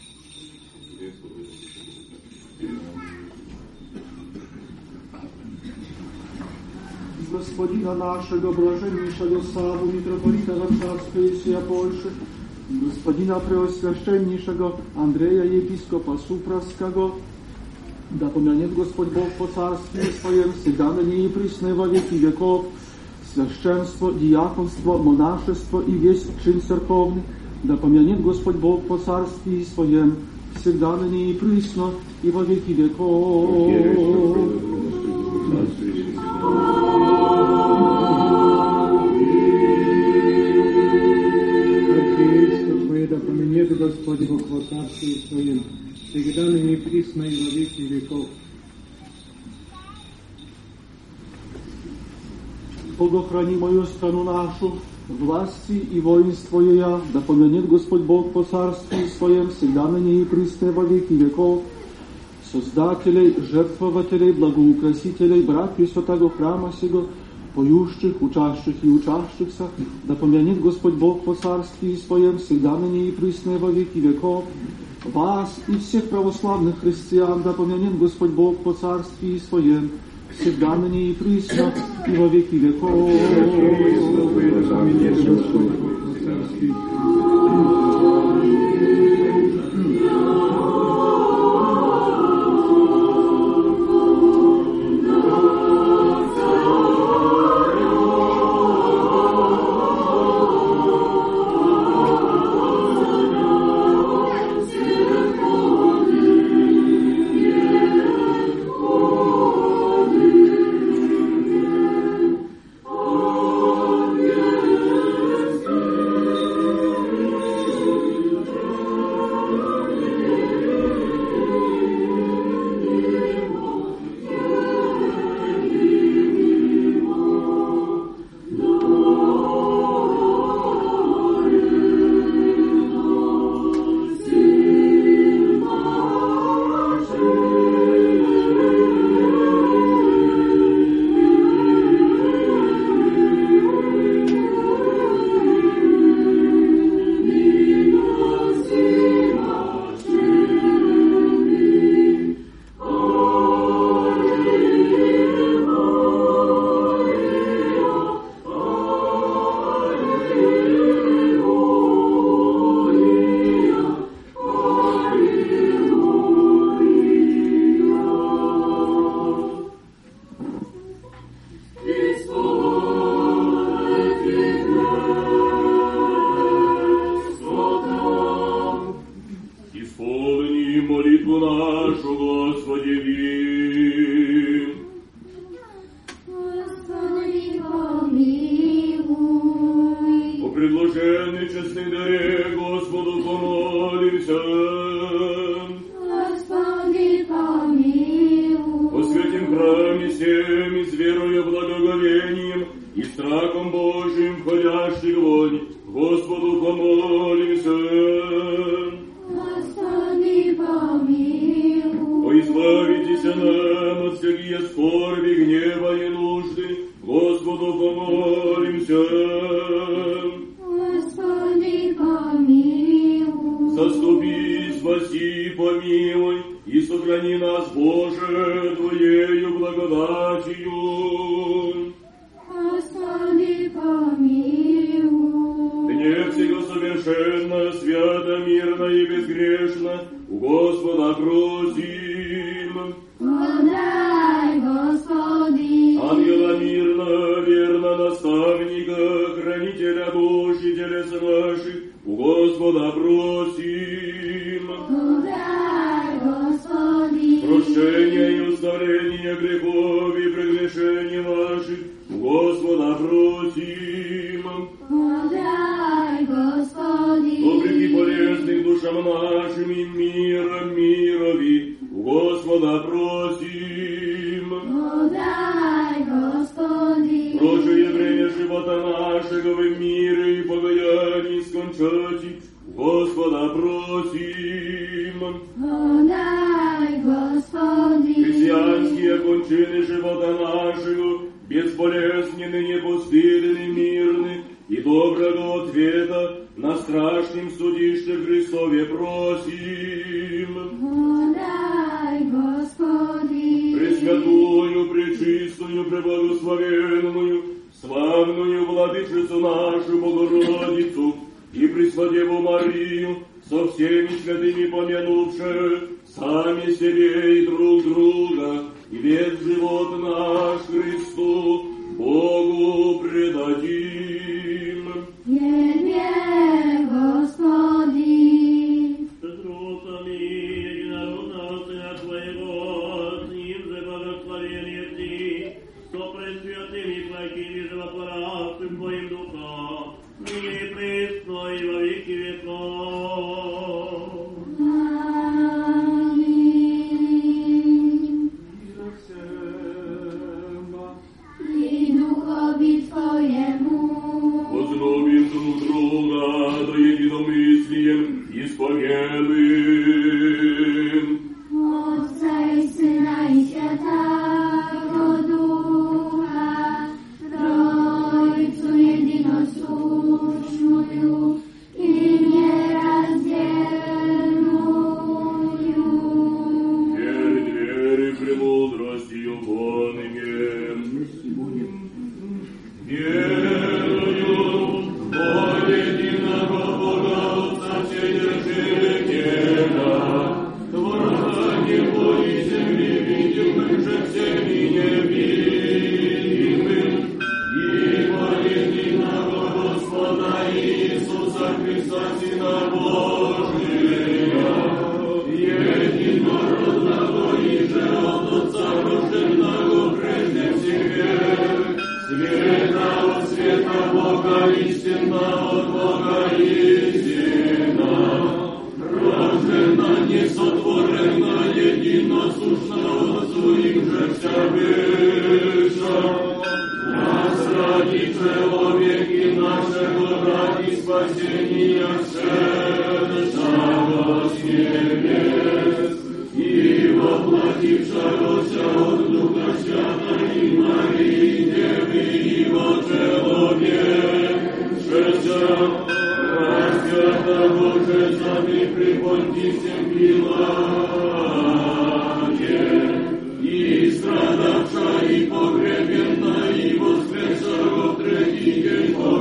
Господина нашего, блаженнейшего Саву, митрополита Варшавской и всея Польши, Господина преосвященнейшего Андрея, епископа Суправского, да помянет Господь Бог по царстве Своем, всегда ныне и присно во веки веков, священство, диаконство, монашество и весь чин церковный, да помянет Господь Бог по царстве Своем, всегда ныне и присно и во веки веков. Да поменет Господь Бог во царстве Своем, всегда ныне и присно и во веки веков. Богохрани мою страну нашу, власти и воинство ее, да помянет Господь Бог по царстве Своем, всегда ныне и присно во веки веков. Создателей, жертвователей, благоукрасителей, братьев святого храма сего, поющих, учащих и учащихся, да помянет Господь Бог по царстве Своем, всегда ныне и присно во веки веков. Вас и всех православных христиан, да помянет Господь Бог по царстве Своем, всегда ныне и присно и во веки веков. Подай, Господи, Прочее время живота нашего в мире и покаянии скончати, Господа просим. Подай, Господи. Христианские кончины живота нашего, безболезненны, непостыдны, мирны, и доброго ответа на страшном судище Христове просим. Подай, Господи. Пресвятую, пречистую, преблагословенную, славную Владычицу нашу Богородицу и Преснодеву Марию, со всеми святыми помянувши сами себе и друг друга, и весь живот наш Христу Богу предадим. Тебе, Господи. Петрутами единородного Сына Твоего, с Ним же благословение Ти, со пресвятыми благими животворящим Твоим Духом, ныне и присно и во веки веков. I duchowi Twojemu. Возлюбим друг друга, да единомыслием исповедуем. Отца и Syna i Świętego Ducha, Trójcu jednosłuszную i nierazdzielную. Верь премудростью Божиим. Верую во единого Бога Отца Вседержителя, Творца небо и земли, видимых же всеми невидимых, и во единого Господа Иисуса Христа, Сына Божия, единородного и же от Отца рожденного прежде всех век, света от света Бога, истина от Бога, истина, рождена, несотворена, единосущна Отцу им же вся выша. Нас ради человеки нашего, ради спасения всешего с небес, и воплотившегося от Духа Святой Марии Девы, его человечеся, распятого же сами при Понтием Пилате, и страдавша, и погребена, и воскресшего в третий день по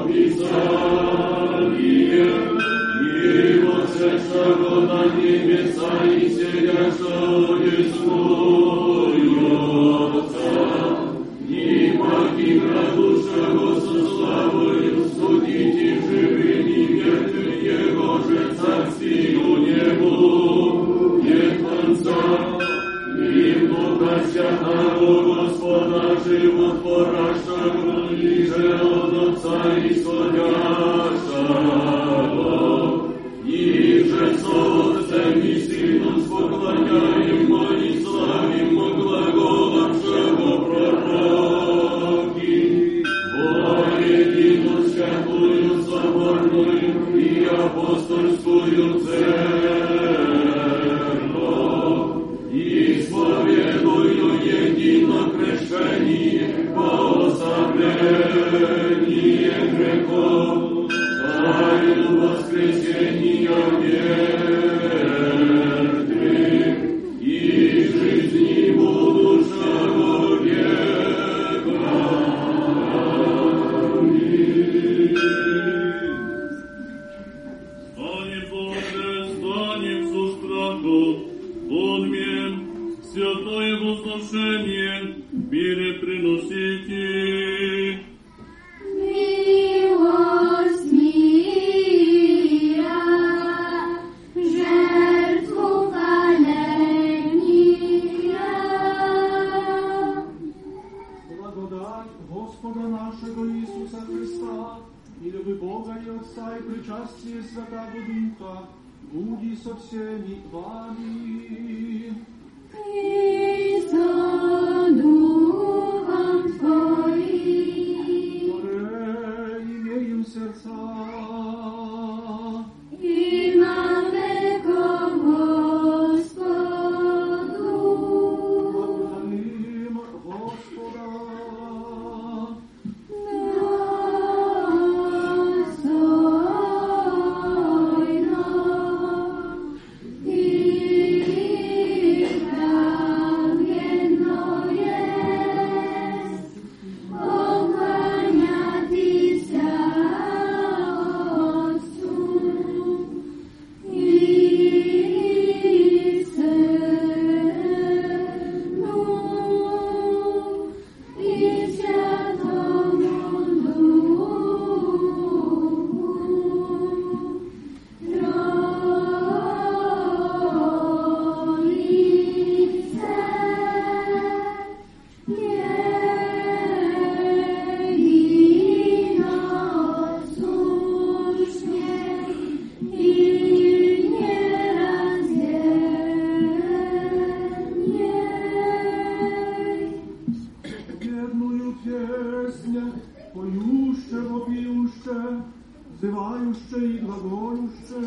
Писанию, и воскресшего на небеса, и сидящего десную Отца, и покинувшего со славою судить и живым, и мертвым Его же царствию небу нет конца. И Духа Святого Господа животворящего, и же от Отца исходящего, и же со Отцем и Сыном споклоняемо и славимо глаголавшего пророки, во единую святую соборную и апостольскую церковь, исповедую едино крещение, пособление грехов, тайну воскресения мертвых и жизни будущего века. Аминь. Станем, Боже, станем со страхом, подмен, святое возношение, мире приносите. Miłość mira, żertwu walenia. Благодать Господа нашего Иисуса Христа, и любовь Бога и Отца и причастие Святого Духа, буди со всеми вами. I so duchom Twoim. Ім'я wzywajuще i glagoluще.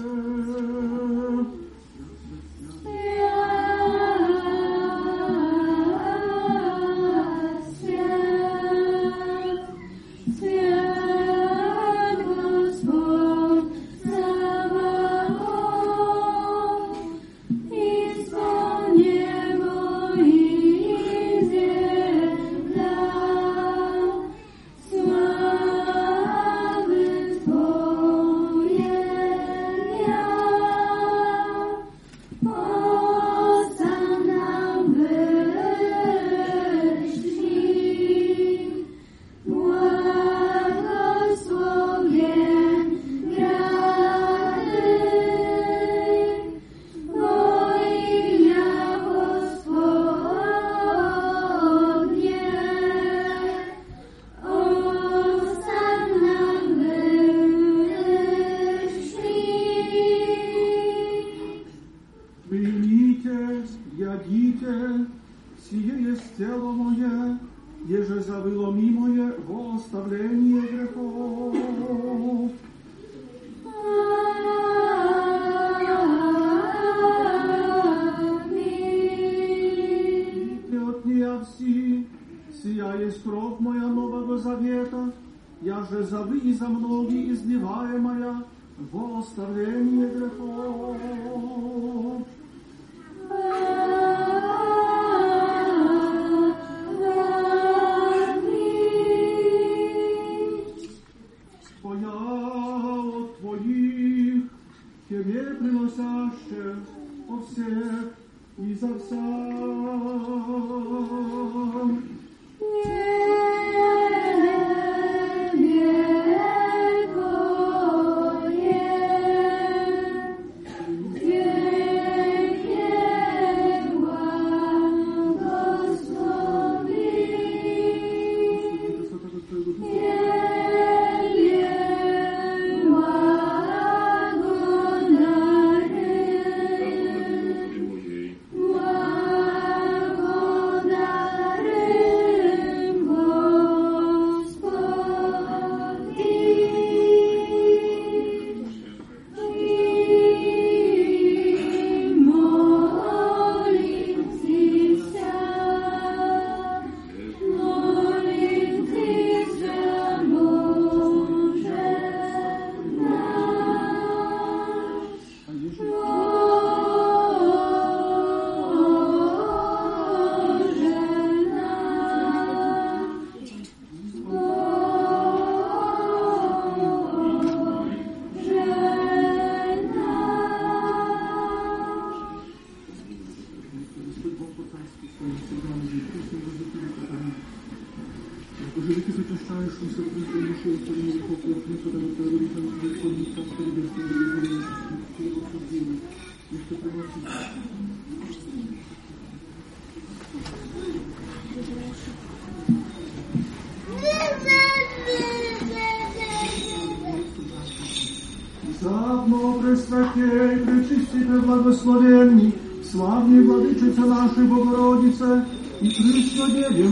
Zadno Prесвятей, Пречистите, Благословенни, славні Владичице нашої Богородице і Преснодеві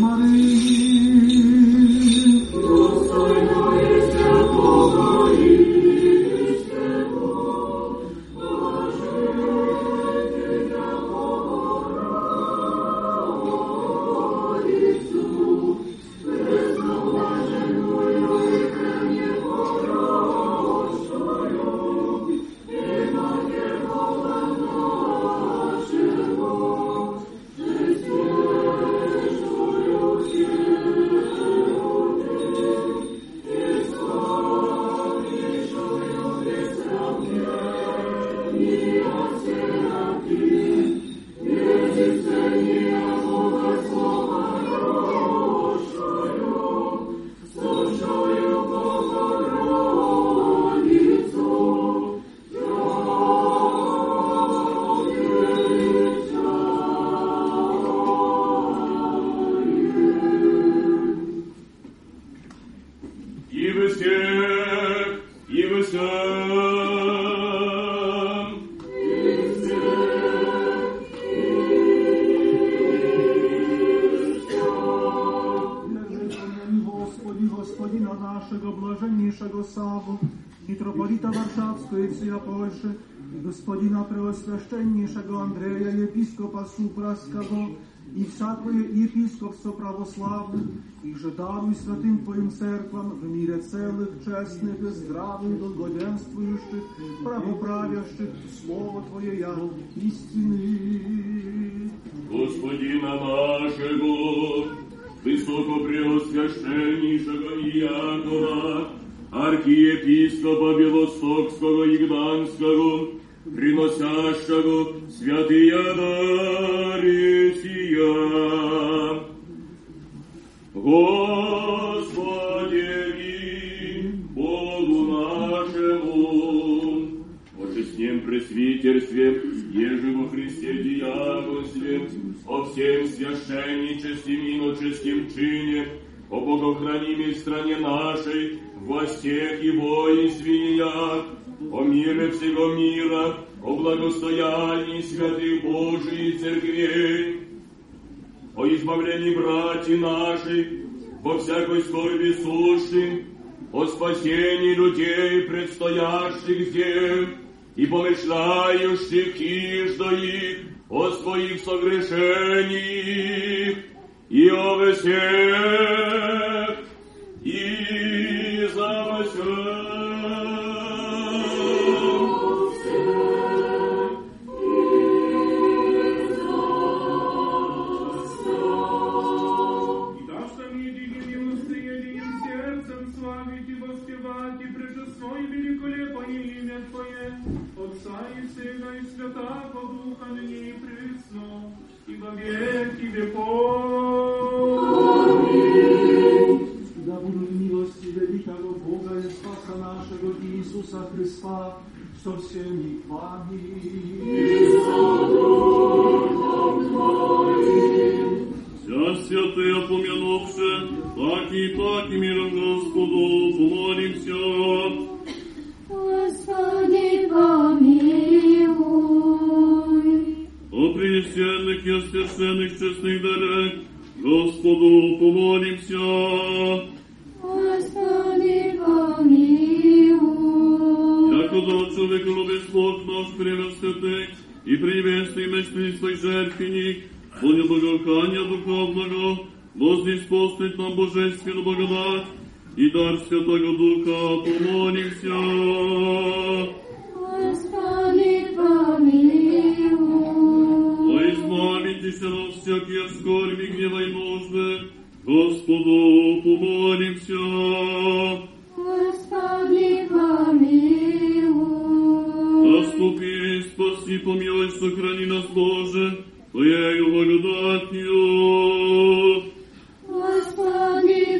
Марії. Достойно і святого і Mitropolita Warszawskiego i всея Польши, и господина Преосвященнейшего Андрея, епископа Супраского, и всякое епископство православных, и же даруй святым Твоим церквам в мире целых, честных и здравых, благоденствующих, правоправящих Слово Твое я истины. Господина нашего, высокопреосвященнейшего Иакова, архиепископа Белостокского и Гданского, приносящего святые дары сия. Господи, Богу нашему, о честном пресвитерстве, еже во Христе диаконстве, о всем священничестве и иноческим чине, о богохранимой стране нашей, властях и воинствениях, о мире всего мира, о благостоянии святых Божиих церквей, о избавлении братьев наших, во всякой скорби сущим, о спасении людей, предстоящих здесь, и помышляющих иждо их, о своих согрешениях, и о всех, и за всех. Отца и Сына и Святого Духа, ныне и присно, и во веки веков. Аминь. Да будут милости великого Бога и Спаса нашего Иисуса Христа со всеми вами. И со Духом Твоим. Вся святые помянувши, так и миром Господу помолимся. Господи, помилуй. О пресвященных и освященных честных дарах, Господу помолимся. Господи, помилуй. Яко да човек любит Бог наш превосвятый и приветствуй мечты свой жертвенник, понял благоухания духовного, вознеспослать нам божественную благодать, и дар Святого Духа помолимся. Господи, помилуй. О избавитесь от всякие скорби, гнева и нужды, Господу помолимся. Господи, помилуй. Заступи, спаси, помилуй, сохрани нас, Боже, Твоею благодатью. Господи,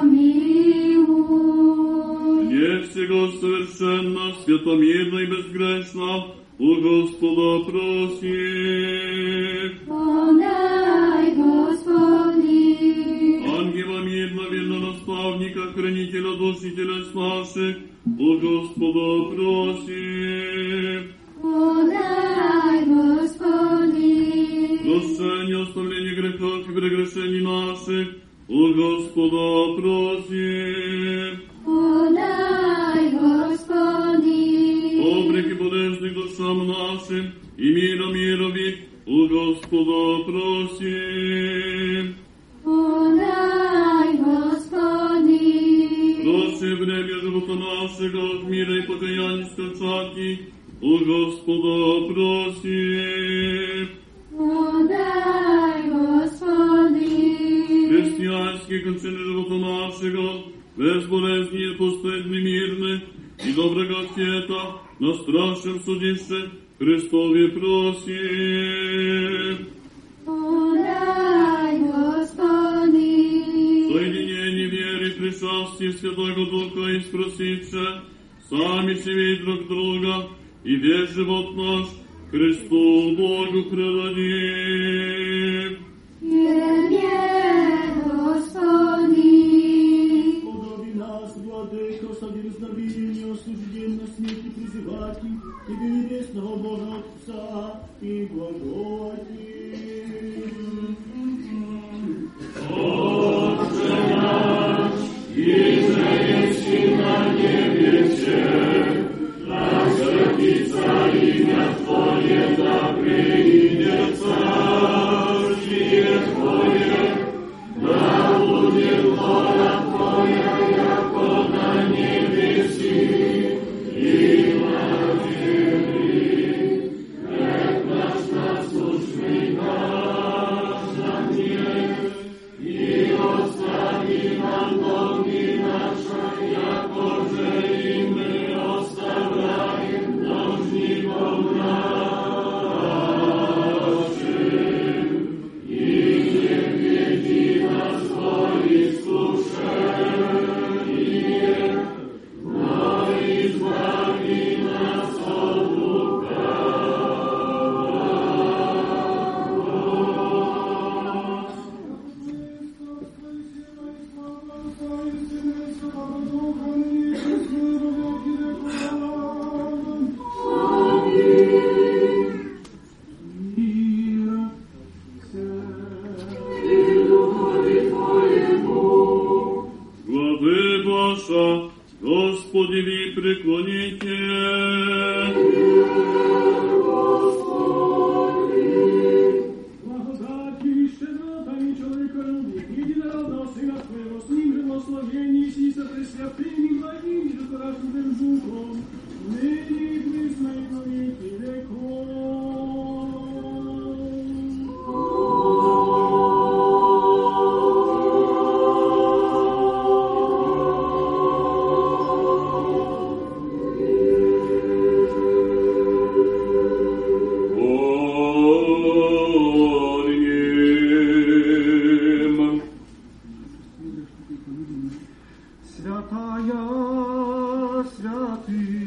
помилуй. Не всего совершенно, святомирно и безгрешно, у Господа просим. Подай, Господи. Ангела мирно, верно наставника, хранителя душ и телес наших, у Господа просим. Подай, Господи. Прощение, оставление грехов и прегрешений наших, у Господа просим. Подай, Господи. Обреки подежных душам нашим и миром мирови, у Господа просим. Подай, Господи. Прощи время живота нашего от мира и покаяния скачати, у Господа просим. Подай, Господи. Христианские кончины живота нашего, без болезни, постыдны, мирны, и доброго света, на страшном судище, Христове просим. Подай, Господи. Соединение веры, пришествие Святого Духа и спросивши, сами себе друг друга, и весь живот наш Христу Богу предадим. Тебе, Господи. Подоби нас, Владыко, со дерзновением осужденно смерти призывать Тебе, небесного Бога Отца, и благодати. Отче наш, иже еси на небесе, веки. Благодати, щедротами человеколюбия, единородного Сына Твоего, с ним же благословении си со пресвятым и благим и житоражным Духом, ныне и присно и во веки веков. Святая святым.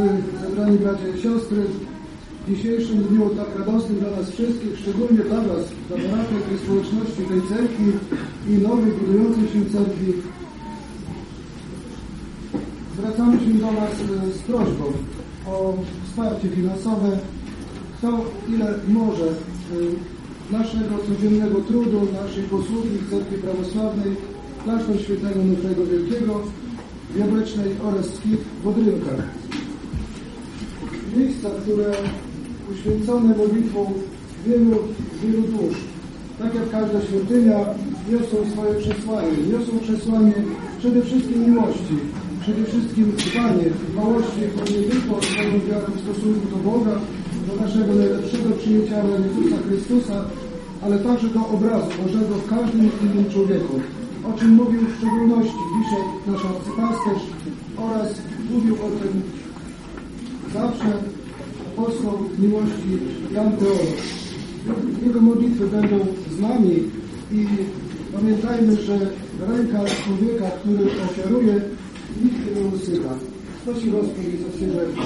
zebrani bracia i siostry, w dzisiejszym dniu tak radosnym dla nas wszystkich, szczególnie dla Was, dla bratek i społeczności tej cerkwi i nowej, budującej się cerkwi, zwracamy się do Was z prośbą o wsparcie finansowe, kto ile może naszego codziennego trudu, naszej posługi w Cerkwi Prawosławnej, Klasztor Świętego Onufrego Wielkiego w Jabłecznej oraz Skit w Odrynkach. Miejsca, które uświęcone modlitwą wielu dusz, tak jak każda świątynia, niosą swoje przesłanie. Niosą przesłanie przede wszystkim miłości, przede wszystkim dbałości nie tylko o swoją wiarę w stosunku do Boga, do naszego najlepszego przyjaciela Jezusa Chrystusa, ale także do obrazu Bożego w każdym innym człowieku, o czym mówił w szczególności dzisiaj nasz arcypasterz oraz mówił o tym zawsze apostoł miłości Jan Teolog. Jego modlitwy będą z nami i pamiętajmy, że ręka człowieka, który ofiaruje, nigdy nie usycha. Prosi Gospod za się rzeczy.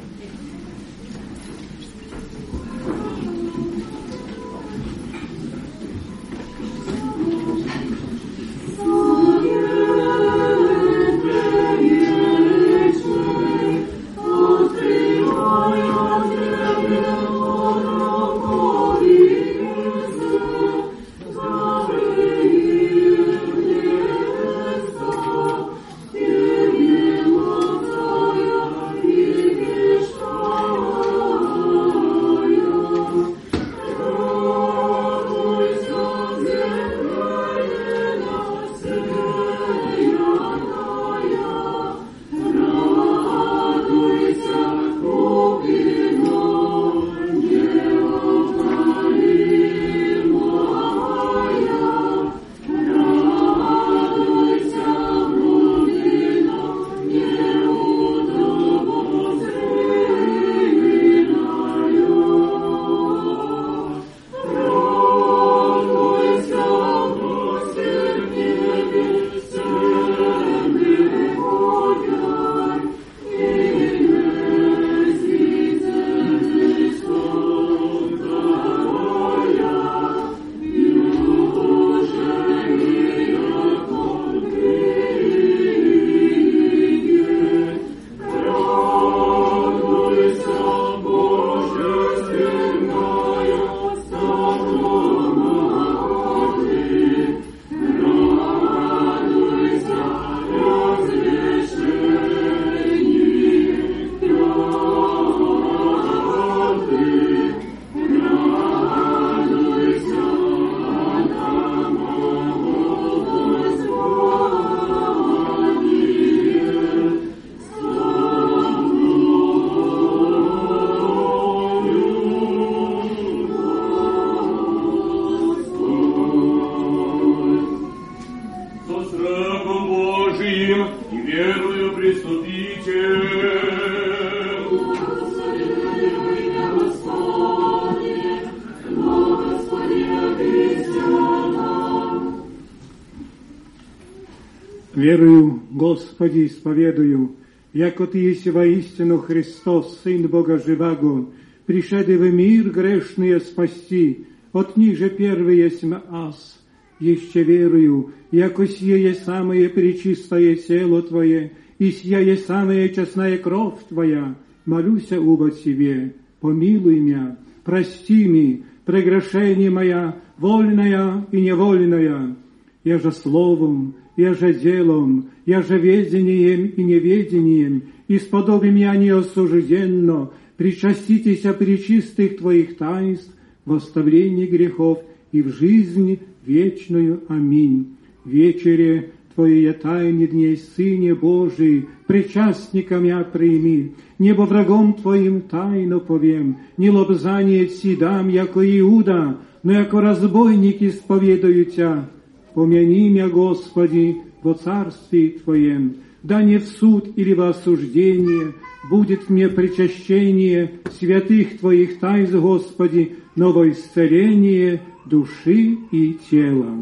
Верую, Господи, исповедую, яко Ты есть воистину Христос, Сын Бога Живаго, пришедший в мир грешные спасти, от них же первый есть аз. Еще верую, яко сие есть самое пречистое тело Твое, и сия есть самая честная кровь Твоя. Молюся оба Тебе, помилуй меня, прости ми, прегрешение моя, вольная и невольная. Я же словом, я же делом, я же ведением и неведением, исподоби меня неосужденно, причаститеся пречистых Твоих таинств, в оставлении грехов и в жизнь вечную. Аминь. Вечере Твоей тайны дней, Сыне Божий, причастником я прими, небо врагом Твоим тайно повем, не лобзание си дам, яко Иуда, но яко разбойник исповедаю Тя. Помяни меня, Господи, во царстве Твоем, да не в суд или во осуждение будет мне причащение святых Твоих тайн, Господи, но во исцеление души и тела.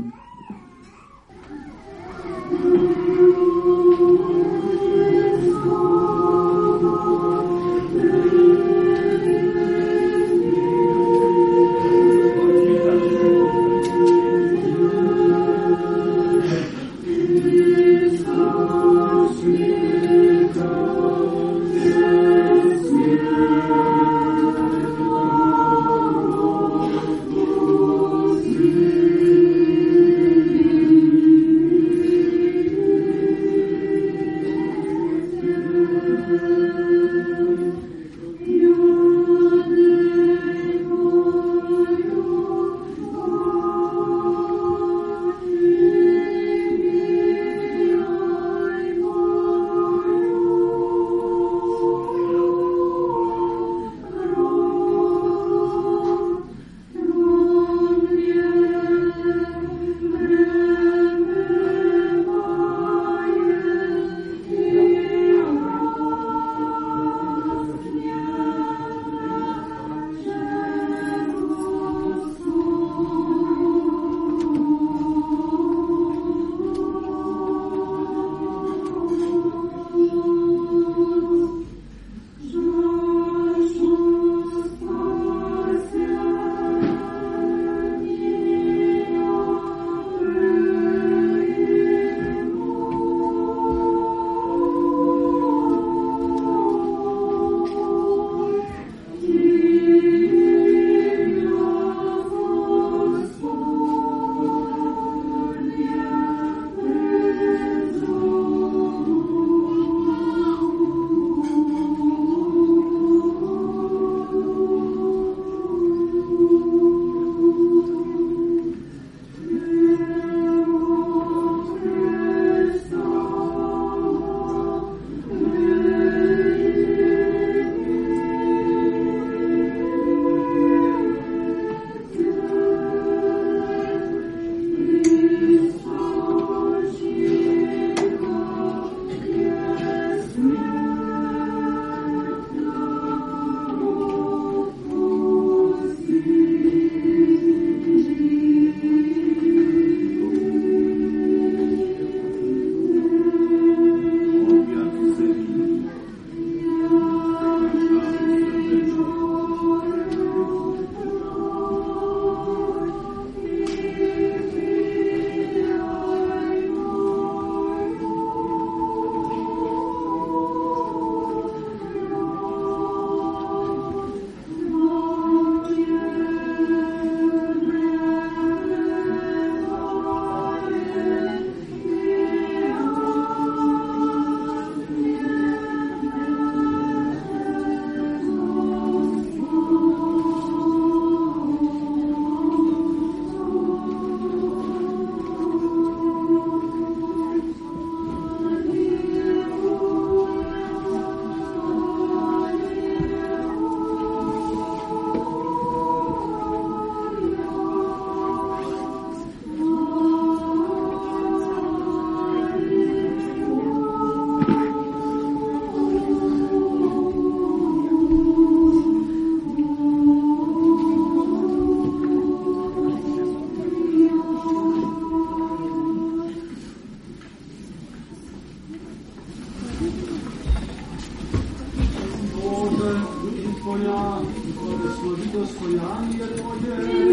жизнь Твоя, и благослови достояние Твое.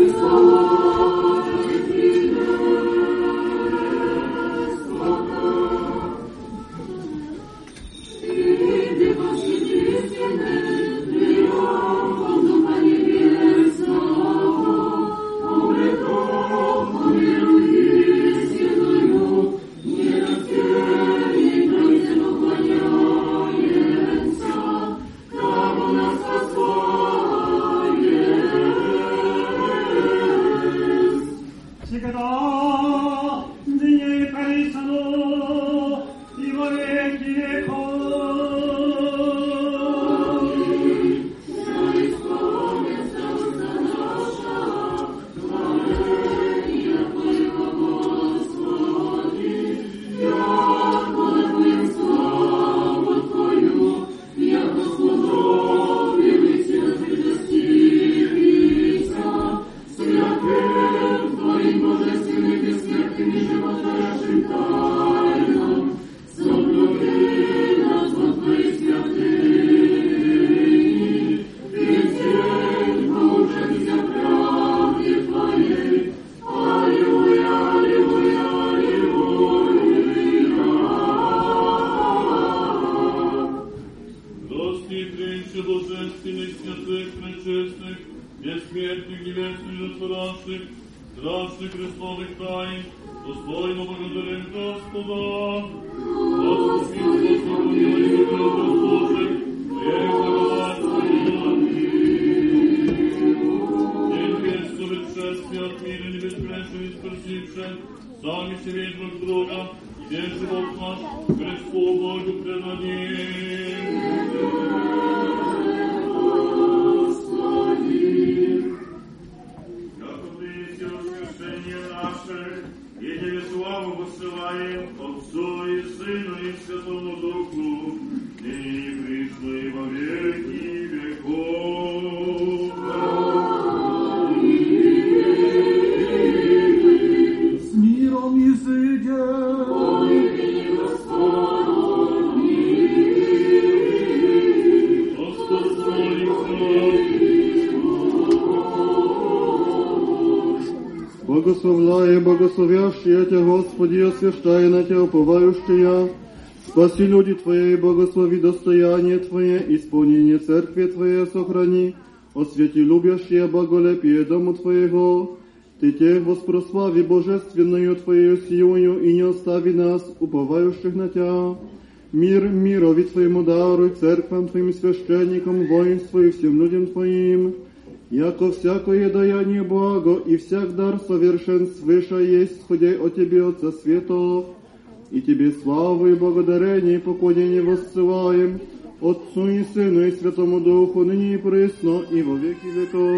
Благословляя, благословящая Тебя, Господи, освящая на Тебя уповающая, спаси люди Твои, благослови достояние Твое, исполнение церкви Твоей сохрани, освети любящее благолепие дому Твоего, Ты тех воспрослави божественную Твою силою и не остави нас, уповающих на Тебя. Мир мирови Твоему даруй, церквам Твоим священникам, воинству и всем людям Твоим, яко всякое даяние благо и всяк дар совершен свыше есть, сходя от Тебе, Отца Светов, и Тебе славу и благодарение и поклонение воссылаем, Отцу и Сыну и Святому Духу, ныне и присно, и во веки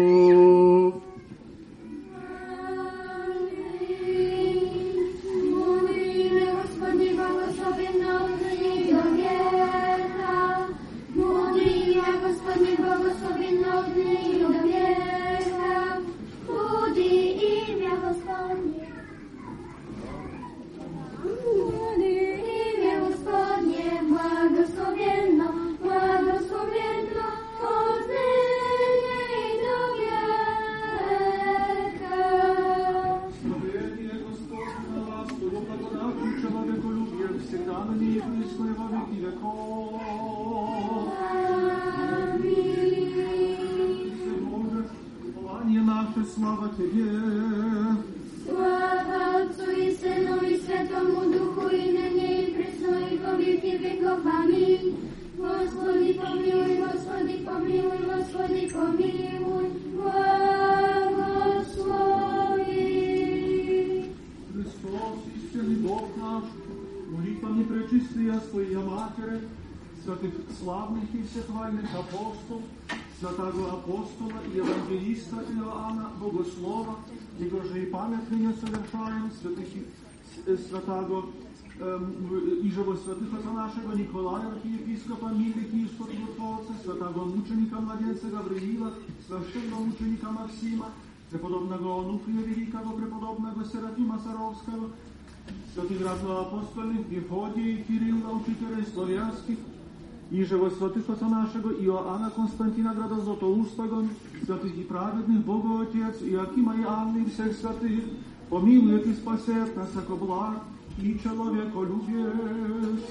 веков. Слава Тебе! Слава Отцу и Сыну и Святому Духу, и ныне и присно, и во веки веков. Аминь. Господи, помилуй, Господи, помилуй, Господи, помилуй, благослови. Христос, истинный Бог наш, молитвами пречистия Своя Матери, святых славных и всехвальных апостолов, святого апостола и евангелиста Иоанна Богослова, его же и память ныне совершаем, святого и живо святых отца нашего Николая, архиепископа Мили Киевского чудотворца, святого мученика младенца Гавриила, священного мученика Максима, преподобного Онуфрия Великого, преподобного Серафима iże во святых Отца нашего Иоанна Константина Града Златоустого, святых и праведных Бога Отец, Иакима и Анны и всех святых, помилует и спасет нас, яко благ и человеколюбец.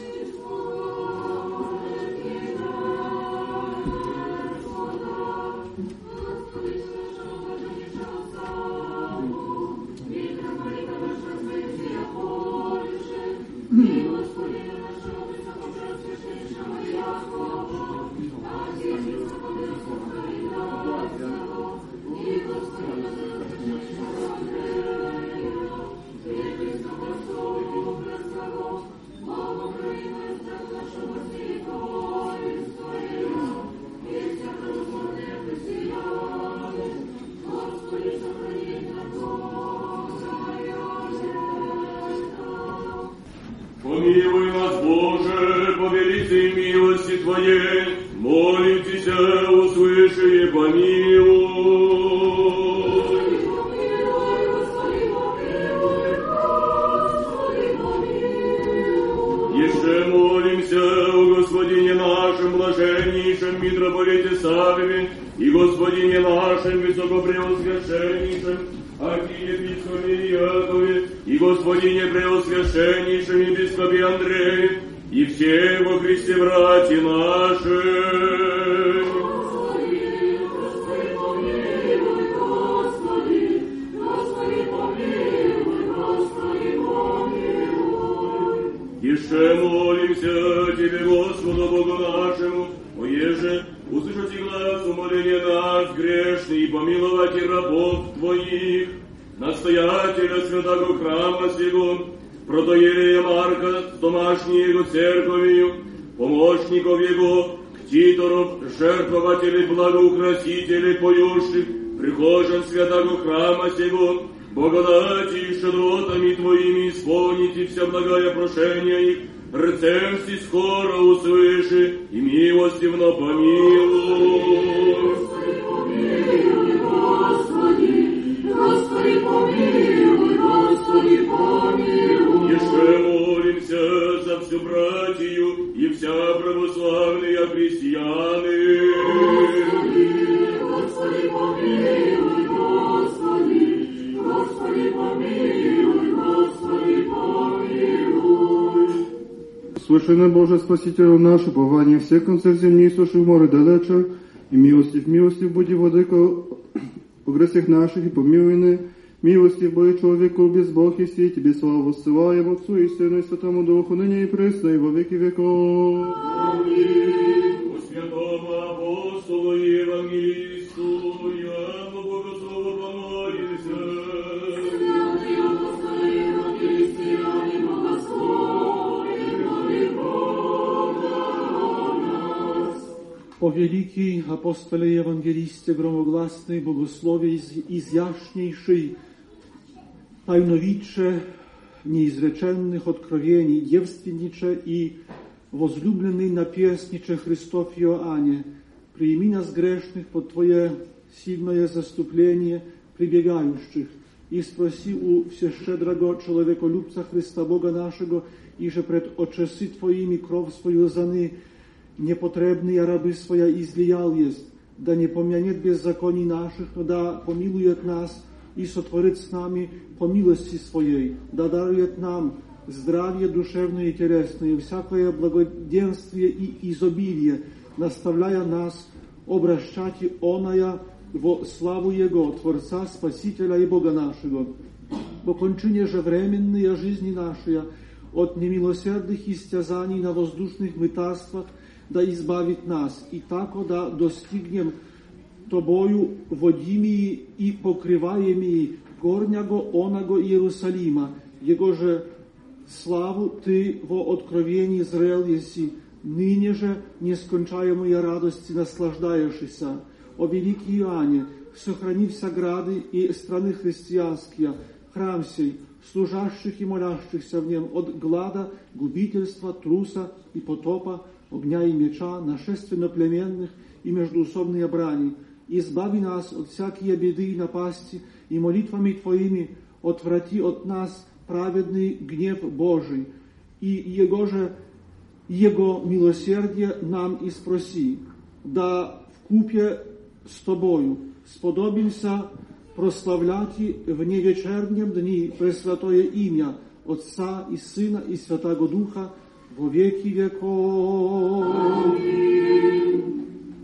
Помилуй нас, Боже, по великой милости Твоей, молим Тебя, услыши и помилуй. Еще молимся о Господине нашем, блаженнейшем митрополите Савве, и Господине нашем, высокопреосвященнейшем архиепископе Якове, и Господине преосвященнейшем епископе Андрее, и все во Христе братья наши. Господи, помилуй, Господи, Господи, помилуй, Господи, помилуй. Еще молимся Тебе, Господу Богу нашему, оеже услышать глаз умоления нас, грешный, и помиловать и рабов Твоих, настоятеля святого храма сего, протоиерея Марка с домашней его церковью, помощников его, ктиторов, жертвователей, благоукрасителей, поющих, прихожан святого храма сего, благодати и щедротами Твоими исполните вся благая прошения их, рецемсти скоро услыши и милостивно помилуй. Господи, помилуй, Господи, Господи, помилуй, Господи, помилуй. Еще молимся за всю братью и вся православные христианы. Господи, помилуй, Господи, Господи, помилуй, Господи, помилуй. Священный Боже, Спасителю наш, упование всех концов земли, суши в море далече, и милостив буди, владыка, о грехах наших и помилуй, милостив бой человеку без Бог и все, Тебе славу воссылаем Отцу и Сыну и Святому Духу, ныне и пресно, и во веки веков. Аминь. По святому апостолу и евангелисту Иоанну Богослову помолимся. Святый апостол и евангелист Иоанн Богослове, моли Бога о нас. О великий апостоле Евангелисте, громогласный, богослове изящнейший, тайновидче неизреченных откровений, девственниче и возлюбленный наперстниче Христов Иоанне, прими нас грешных под Твое сильное заступление прибегающих и спроси у всещедрого человеколюбца Христа Бога нашего, иже пред очеси Твоими кров свою заны, непотребные рабы своя излиял есть, да не помянет беззаконий наших, но да помилует нас и сотворит с нами по милости Своей, да дарует нам здравие душевное и телесное, всякое благоденствие и изобилие, наставляя нас обращать оная во славу Его, Творца, Спасителя и Бога нашего. По кончине же временной жизни нашей от немилосердных истязаний на воздушных мытарствах да избавит нас, и тако да достигнем Тобою водимии и покрываемии горняго онаго Иерусалима, Его же славу Ты во откровении зрел еси, ныне же нескончаемой радости наслаждаешься. О великий Иоанне, сохрани вся грады и страны христианские, храм сей, служащих и молящихся в нем от глада, губительства, труса и потопа, огня и меча, нашественно-племенных и междуусобной брани. Избави нас от всякие беды и напасти, и молитвами Твоими отврати от нас праведный гнев Божий, и Его же Jego miłosierdzie nam i sprosi, da wkupie z Tobою сподобимся прославлять в невечернем дни Пресвятое имя Отца и Сына и Святого Духа во веки веков. Аминь.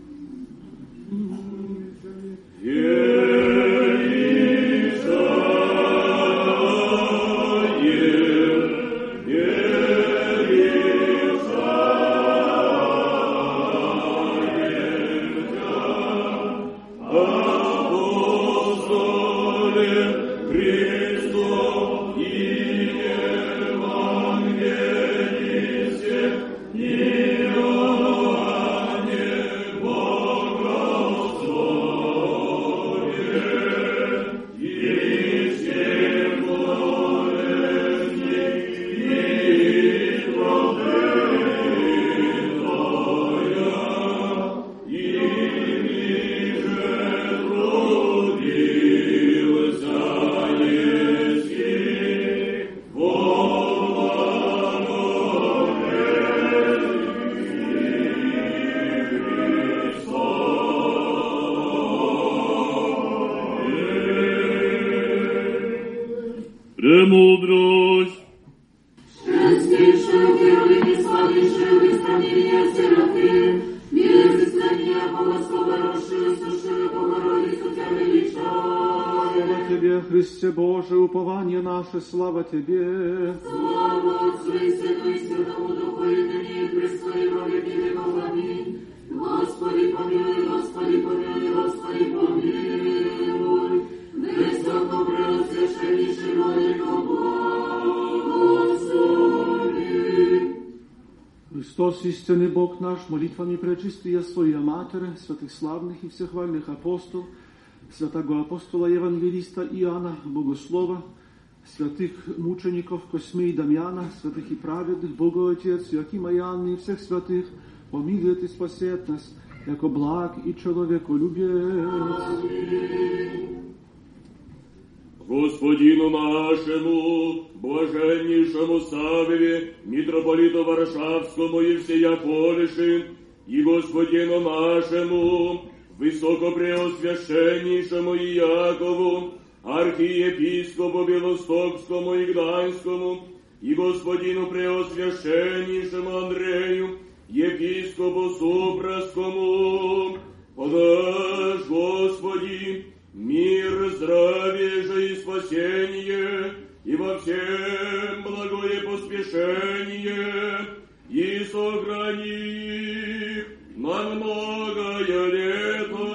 Премудрость. Szczęśliwszy, wielki, sławniejszy, wystąpienie Serafim, wielcy sklenia, błogosława, roszy, suszyły, Bogorodicu, Cię wyliczaj. Слава Тебе, Христе Боже, упование наше, слава Тебе. Слава Отцу и Сыну и Святому Духу, и ныне и присно и во веки веков. Аминь. Господи помилуй, Господи помилуй, Господи помилуй. Высоко преосвященнейший владыко благослови. Христос, истинный Бог наш, молитвами пречистия Своя Матерь, святых славных и всехвальных апостолов, святого апостола Евангелиста Иоанна, Богослова, святых мучеников Косьмы и Дамьяна, святых и праведных, Бога Отец, Иоакима и Анны, и всех святых, помилует и спасет нас, яко благ и человеколюбец. Господину нашему, блаженнейшему Савве, митрополиту Варшавскому и всея Польши, и Господину нашему, высокопреосвященнейшему Иакову, архиепископу Белостокскому и Гданьскому, и Господину преосвященнейшему Андрею, епископу Супраскому, подашь, Господи, мир, здравие же и спасение, и во всем благое поспешение, и сохрани на многое лето.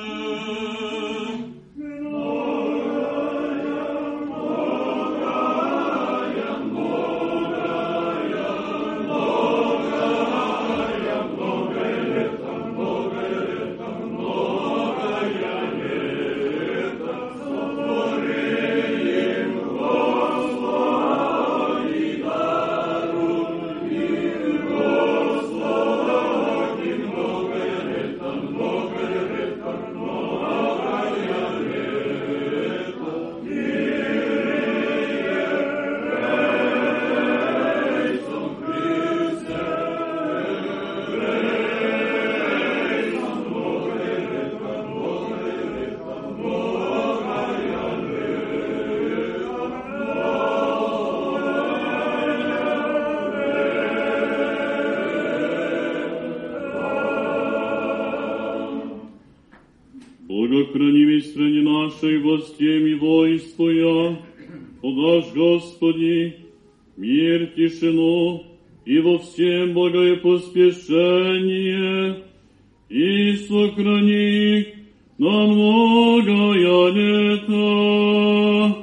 Храни в стране нашей властям и воинствуя, подашь, Господи, мир, тишину и во всем благое поспешение, и сохрани на многое лето.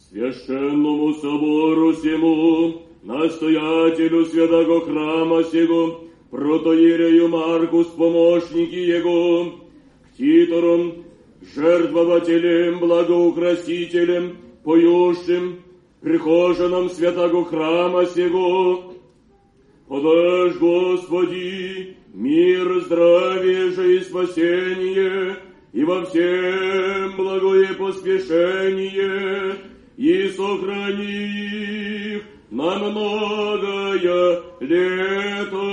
священному собору сему, настоятелю святого храма сего, протоиерею Марку с помощники его, к титорам, жертвователям, благоукрасителям, поющим, прихожанам святого храма сего, подашь, Господи, мир, здравие же и спасение, и во всем благое поспешение, и сохрани их на многое лето.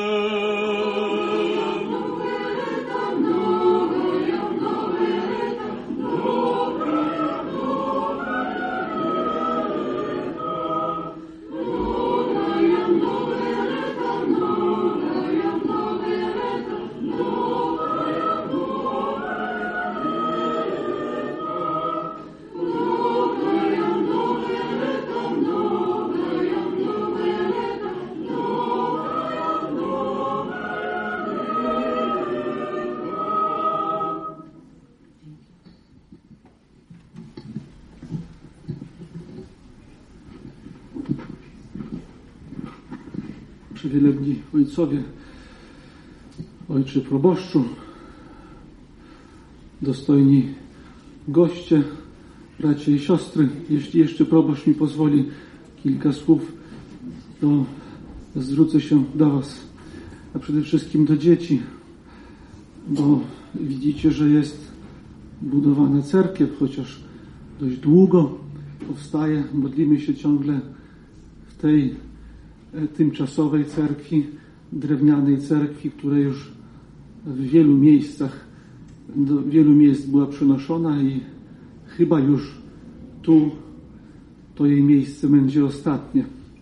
Wielebni ojcowie, ojcze proboszczu, dostojni goście, bracia i siostry, jeśli jeszcze proboszcz mi pozwoli kilka słów, to zwrócę się do was, a przede wszystkim do dzieci, bo widzicie, że jest budowana cerkiew, chociaż dość długo powstaje, modlimy się ciągle w tej tymczasowej cerkwi, drewnianej cerkwi, która już w wielu miejscach, do wielu miejsc była przenoszona i chyba już tu to jej miejsce będzie ostatnie.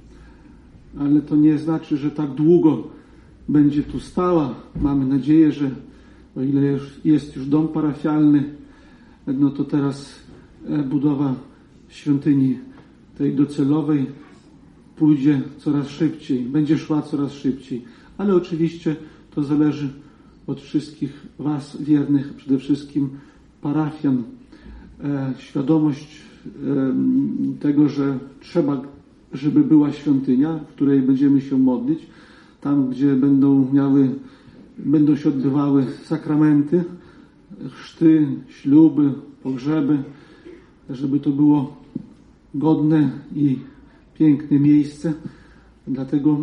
Ale to nie znaczy, że tak długo będzie tu stała. Mamy nadzieję, że o ile jest już dom parafialny, no to teraz budowa świątyni tej docelowej pójdzie coraz szybciej, będzie szła coraz szybciej. Ale oczywiście to zależy od wszystkich was, wiernych, przede wszystkim parafian. Świadomość tego, że trzeba, żeby była świątynia, w której będziemy się modlić, tam, gdzie będą się odbywały sakramenty, chrzty, śluby, pogrzeby, żeby to było godne i piękne miejsce. Dlatego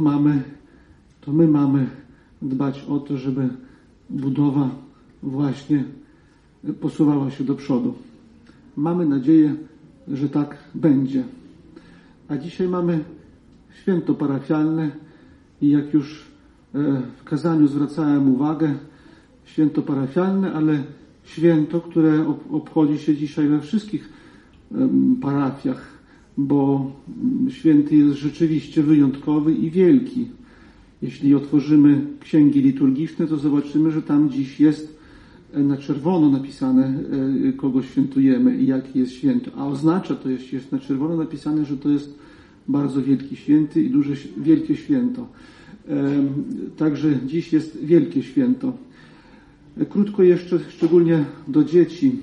my mamy dbać o to, żeby budowa właśnie posuwała się do przodu. Mamy nadzieję, że tak będzie. A dzisiaj mamy święto parafialne i jak już w kazaniu zwracałem uwagę, święto parafialne, ale święto, które obchodzi się dzisiaj we wszystkich parafiach, bo święty jest rzeczywiście wyjątkowy i wielki. Jeśli otworzymy księgi liturgiczne, to zobaczymy, że tam dziś jest na czerwono napisane, kogo świętujemy i jaki jest święto. A oznacza to, jeśli jest na czerwono napisane, że to jest bardzo wielki święty i wielkie święto. Także dziś jest wielkie święto. Krótko jeszcze, szczególnie do dzieci.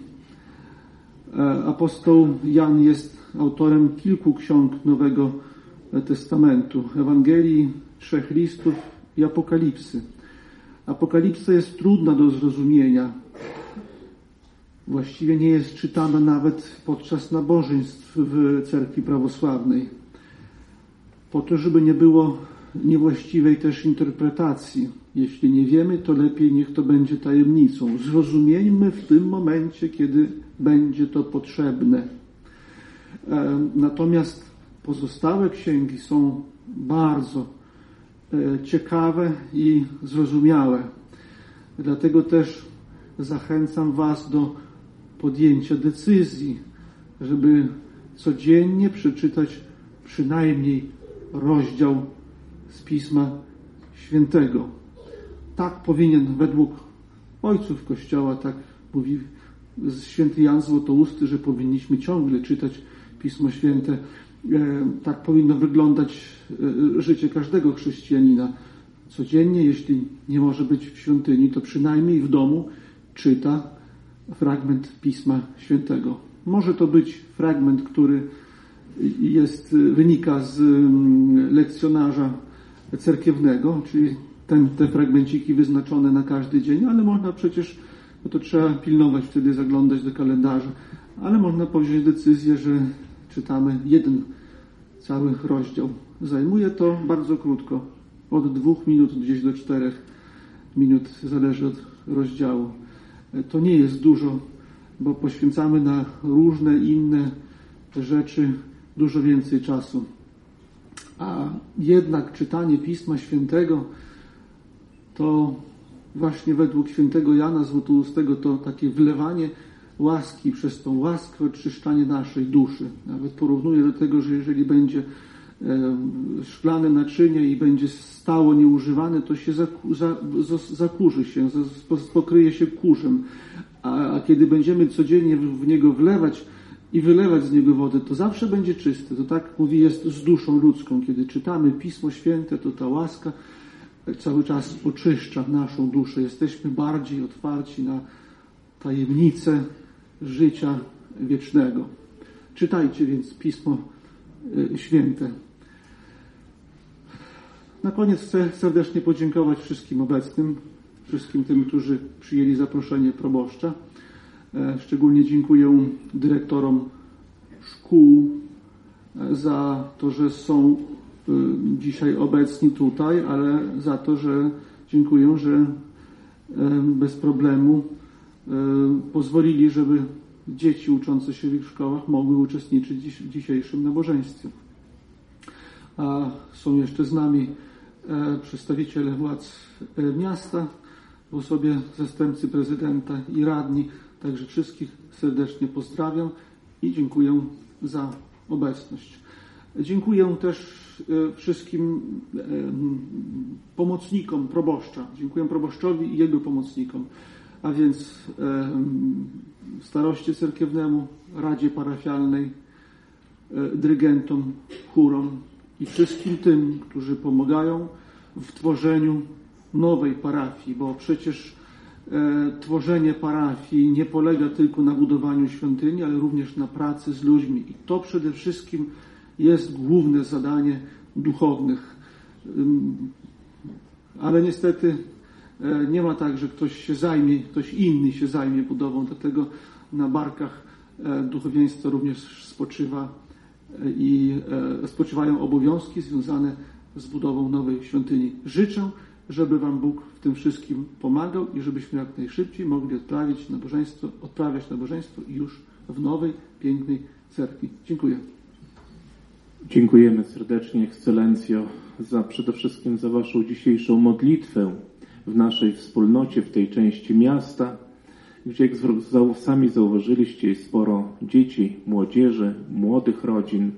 Apostoł Jan jest autorem kilku ksiąg Nowego Testamentu. Ewangelii, 3 listów i Apokalipsy. Apokalipsa jest trudna do zrozumienia. Właściwie nie jest czytana nawet podczas nabożeństw w cerkwi prawosławnej. Po to, żeby nie było niewłaściwej też interpretacji. Jeśli nie wiemy, to lepiej niech to będzie tajemnicą. Zrozumieńmy w tym momencie, kiedy będzie to potrzebne. Natomiast pozostałe księgi są bardzo ciekawe i zrozumiałe. Dlatego też zachęcam was do podjęcia decyzji, żeby codziennie przeczytać przynajmniej rozdział z Pisma Świętego. Tak powinien według ojców Kościoła, tak mówi święty Jan Złotousty, że powinniśmy ciągle czytać Pismo Święte. Tak powinno wyglądać życie każdego chrześcijanina. Codziennie, jeśli nie może być w świątyni, to przynajmniej w domu czyta fragment Pisma Świętego. Może to być fragment, który wynika z lekcjonarza cerkiewnego, czyli te fragmenciki wyznaczone na każdy dzień, ale można przecież, bo to trzeba pilnować, wtedy zaglądać do kalendarza, ale można podjąć decyzję, że czytamy jeden cały rozdział. Zajmuje to bardzo krótko, od 2 minut gdzieś do 4 minut, zależy od rozdziału. To nie jest dużo, bo poświęcamy na różne inne rzeczy dużo więcej czasu. A jednak czytanie Pisma Świętego to właśnie według świętego Jana Złotoustego to takie wlewanie łaski przez tą łaskę, oczyszczanie naszej duszy. Nawet porównuję do tego, że jeżeli będzie szklane naczynie i będzie stało nieużywane, to się zakurzy się, pokryje się kurzem. A kiedy będziemy codziennie w niego wlewać i wylewać z niego wodę, to zawsze będzie czyste. To tak mówi jest z duszą ludzką. Kiedy czytamy Pismo Święte, to ta łaska cały czas oczyszcza naszą duszę. Jesteśmy bardziej otwarci na tajemnice życia wiecznego. Czytajcie więc Pismo Święte. Na koniec chcę serdecznie podziękować wszystkim obecnym, wszystkim tym, którzy przyjęli zaproszenie proboszcza. Szczególnie dziękuję dyrektorom szkół za to, że są dzisiaj obecni tutaj, ale za to, że dziękuję, że bez problemu pozwolili, żeby dzieci uczące się w ich szkołach mogły uczestniczyć w dzisiejszym nabożeństwie. A są jeszcze z nami przedstawiciele władz miasta, w osobie zastępcy prezydenta i radni. Także wszystkich serdecznie pozdrawiam i dziękuję za obecność. Dziękuję też wszystkim pomocnikom proboszcza. Dziękuję proboszczowi i jego pomocnikom, a więc staroście cerkiewnemu, radzie parafialnej, dyrygentom, chórom i wszystkim tym, którzy pomagają w tworzeniu nowej parafii, bo przecież tworzenie parafii nie polega tylko na budowaniu świątyni, ale również na pracy z ludźmi. I to przede wszystkim jest główne zadanie duchownych. Ale niestety nie ma tak, że ktoś inny się zajmie budową, dlatego na barkach duchowieństwa również spoczywają obowiązki związane z budową nowej świątyni. Życzę, żeby Wam Bóg w tym wszystkim pomagał i żebyśmy jak najszybciej mogli odprawiać nabożeństwo już w nowej, pięknej cerkwi. Dziękuję. Dziękujemy serdecznie, Ekscelencjo, przede wszystkim za Waszą dzisiejszą modlitwę w naszej wspólnocie, w tej części miasta, gdzie jak sami zauważyliście, jest sporo dzieci, młodzieży, młodych rodzin.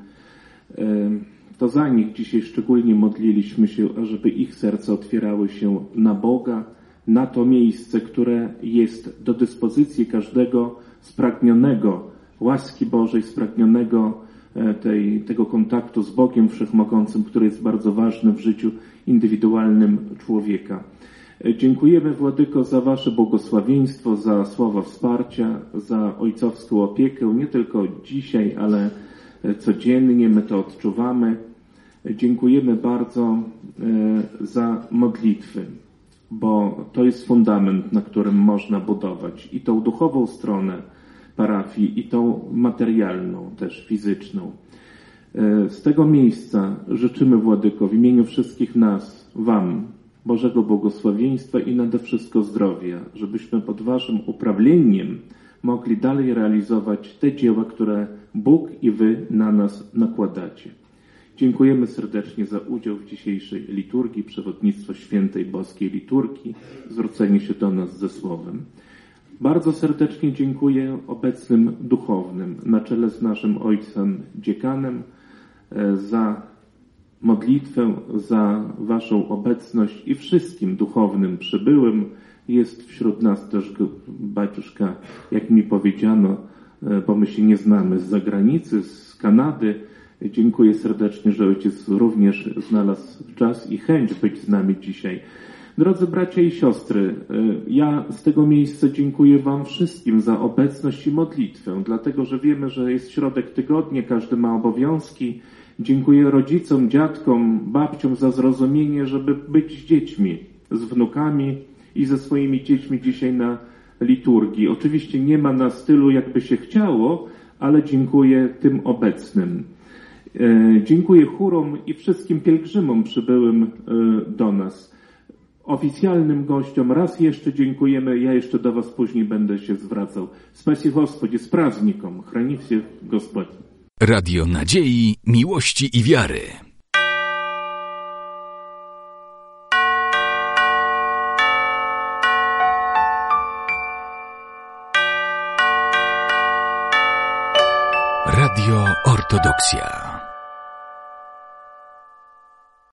To za nich dzisiaj szczególnie modliliśmy się, ażeby ich serca otwierały się na Boga, na to miejsce, które jest do dyspozycji każdego spragnionego łaski Bożej, spragnionego tego kontaktu z Bogiem Wszechmogącym, który jest bardzo ważny w życiu indywidualnym człowieka. Dziękujemy, Władyko, za Wasze błogosławieństwo, za słowa wsparcia, za ojcowską opiekę, nie tylko dzisiaj, ale codziennie my to odczuwamy. Dziękujemy bardzo za modlitwy, bo to jest fundament, na którym można budować i tą duchową stronę parafii, i tą materialną, też fizyczną. Z tego miejsca życzymy, Władyko, w imieniu wszystkich nas, Wam, Bożego błogosławieństwa i nade wszystko zdrowia, żebyśmy pod Waszym uprawieniem mogli dalej realizować te dzieła, które Bóg i Wy na nas nakładacie. Dziękujemy serdecznie za udział w dzisiejszej liturgii, przewodnictwo Świętej Boskiej Liturgii, zwrócenie się do nas ze słowem. Bardzo serdecznie dziękuję obecnym duchownym, na czele z naszym ojcem dziekanem, za modlitwę, za Waszą obecność i wszystkim duchownym przybyłym. Jest wśród nas też baciuszka, jak mi powiedziano, bo my się nie znamy, z zagranicy, z Kanady. Dziękuję serdecznie, że ojciec również znalazł czas i chęć być z nami dzisiaj. Drodzy bracia i siostry, ja z tego miejsca dziękuję Wam wszystkim za obecność i modlitwę, dlatego że wiemy, że jest środek tygodnia, każdy ma obowiązki. Dziękuję rodzicom, dziadkom, babciom za zrozumienie, żeby być z dziećmi, z wnukami i ze swoimi dziećmi dzisiaj na liturgii. Oczywiście nie ma na stylu, jakby się chciało, ale dziękuję tym obecnym. Dziękuję chórom i wszystkim pielgrzymom przybyłym do nas. Oficjalnym gościom raz jeszcze dziękujemy. Ja jeszcze do Was później będę się zwracał. Spasi Господи, z праздником. Chrani всех Господь. Radio Nadziei, Miłości i Wiary. Radio Ortodoksja.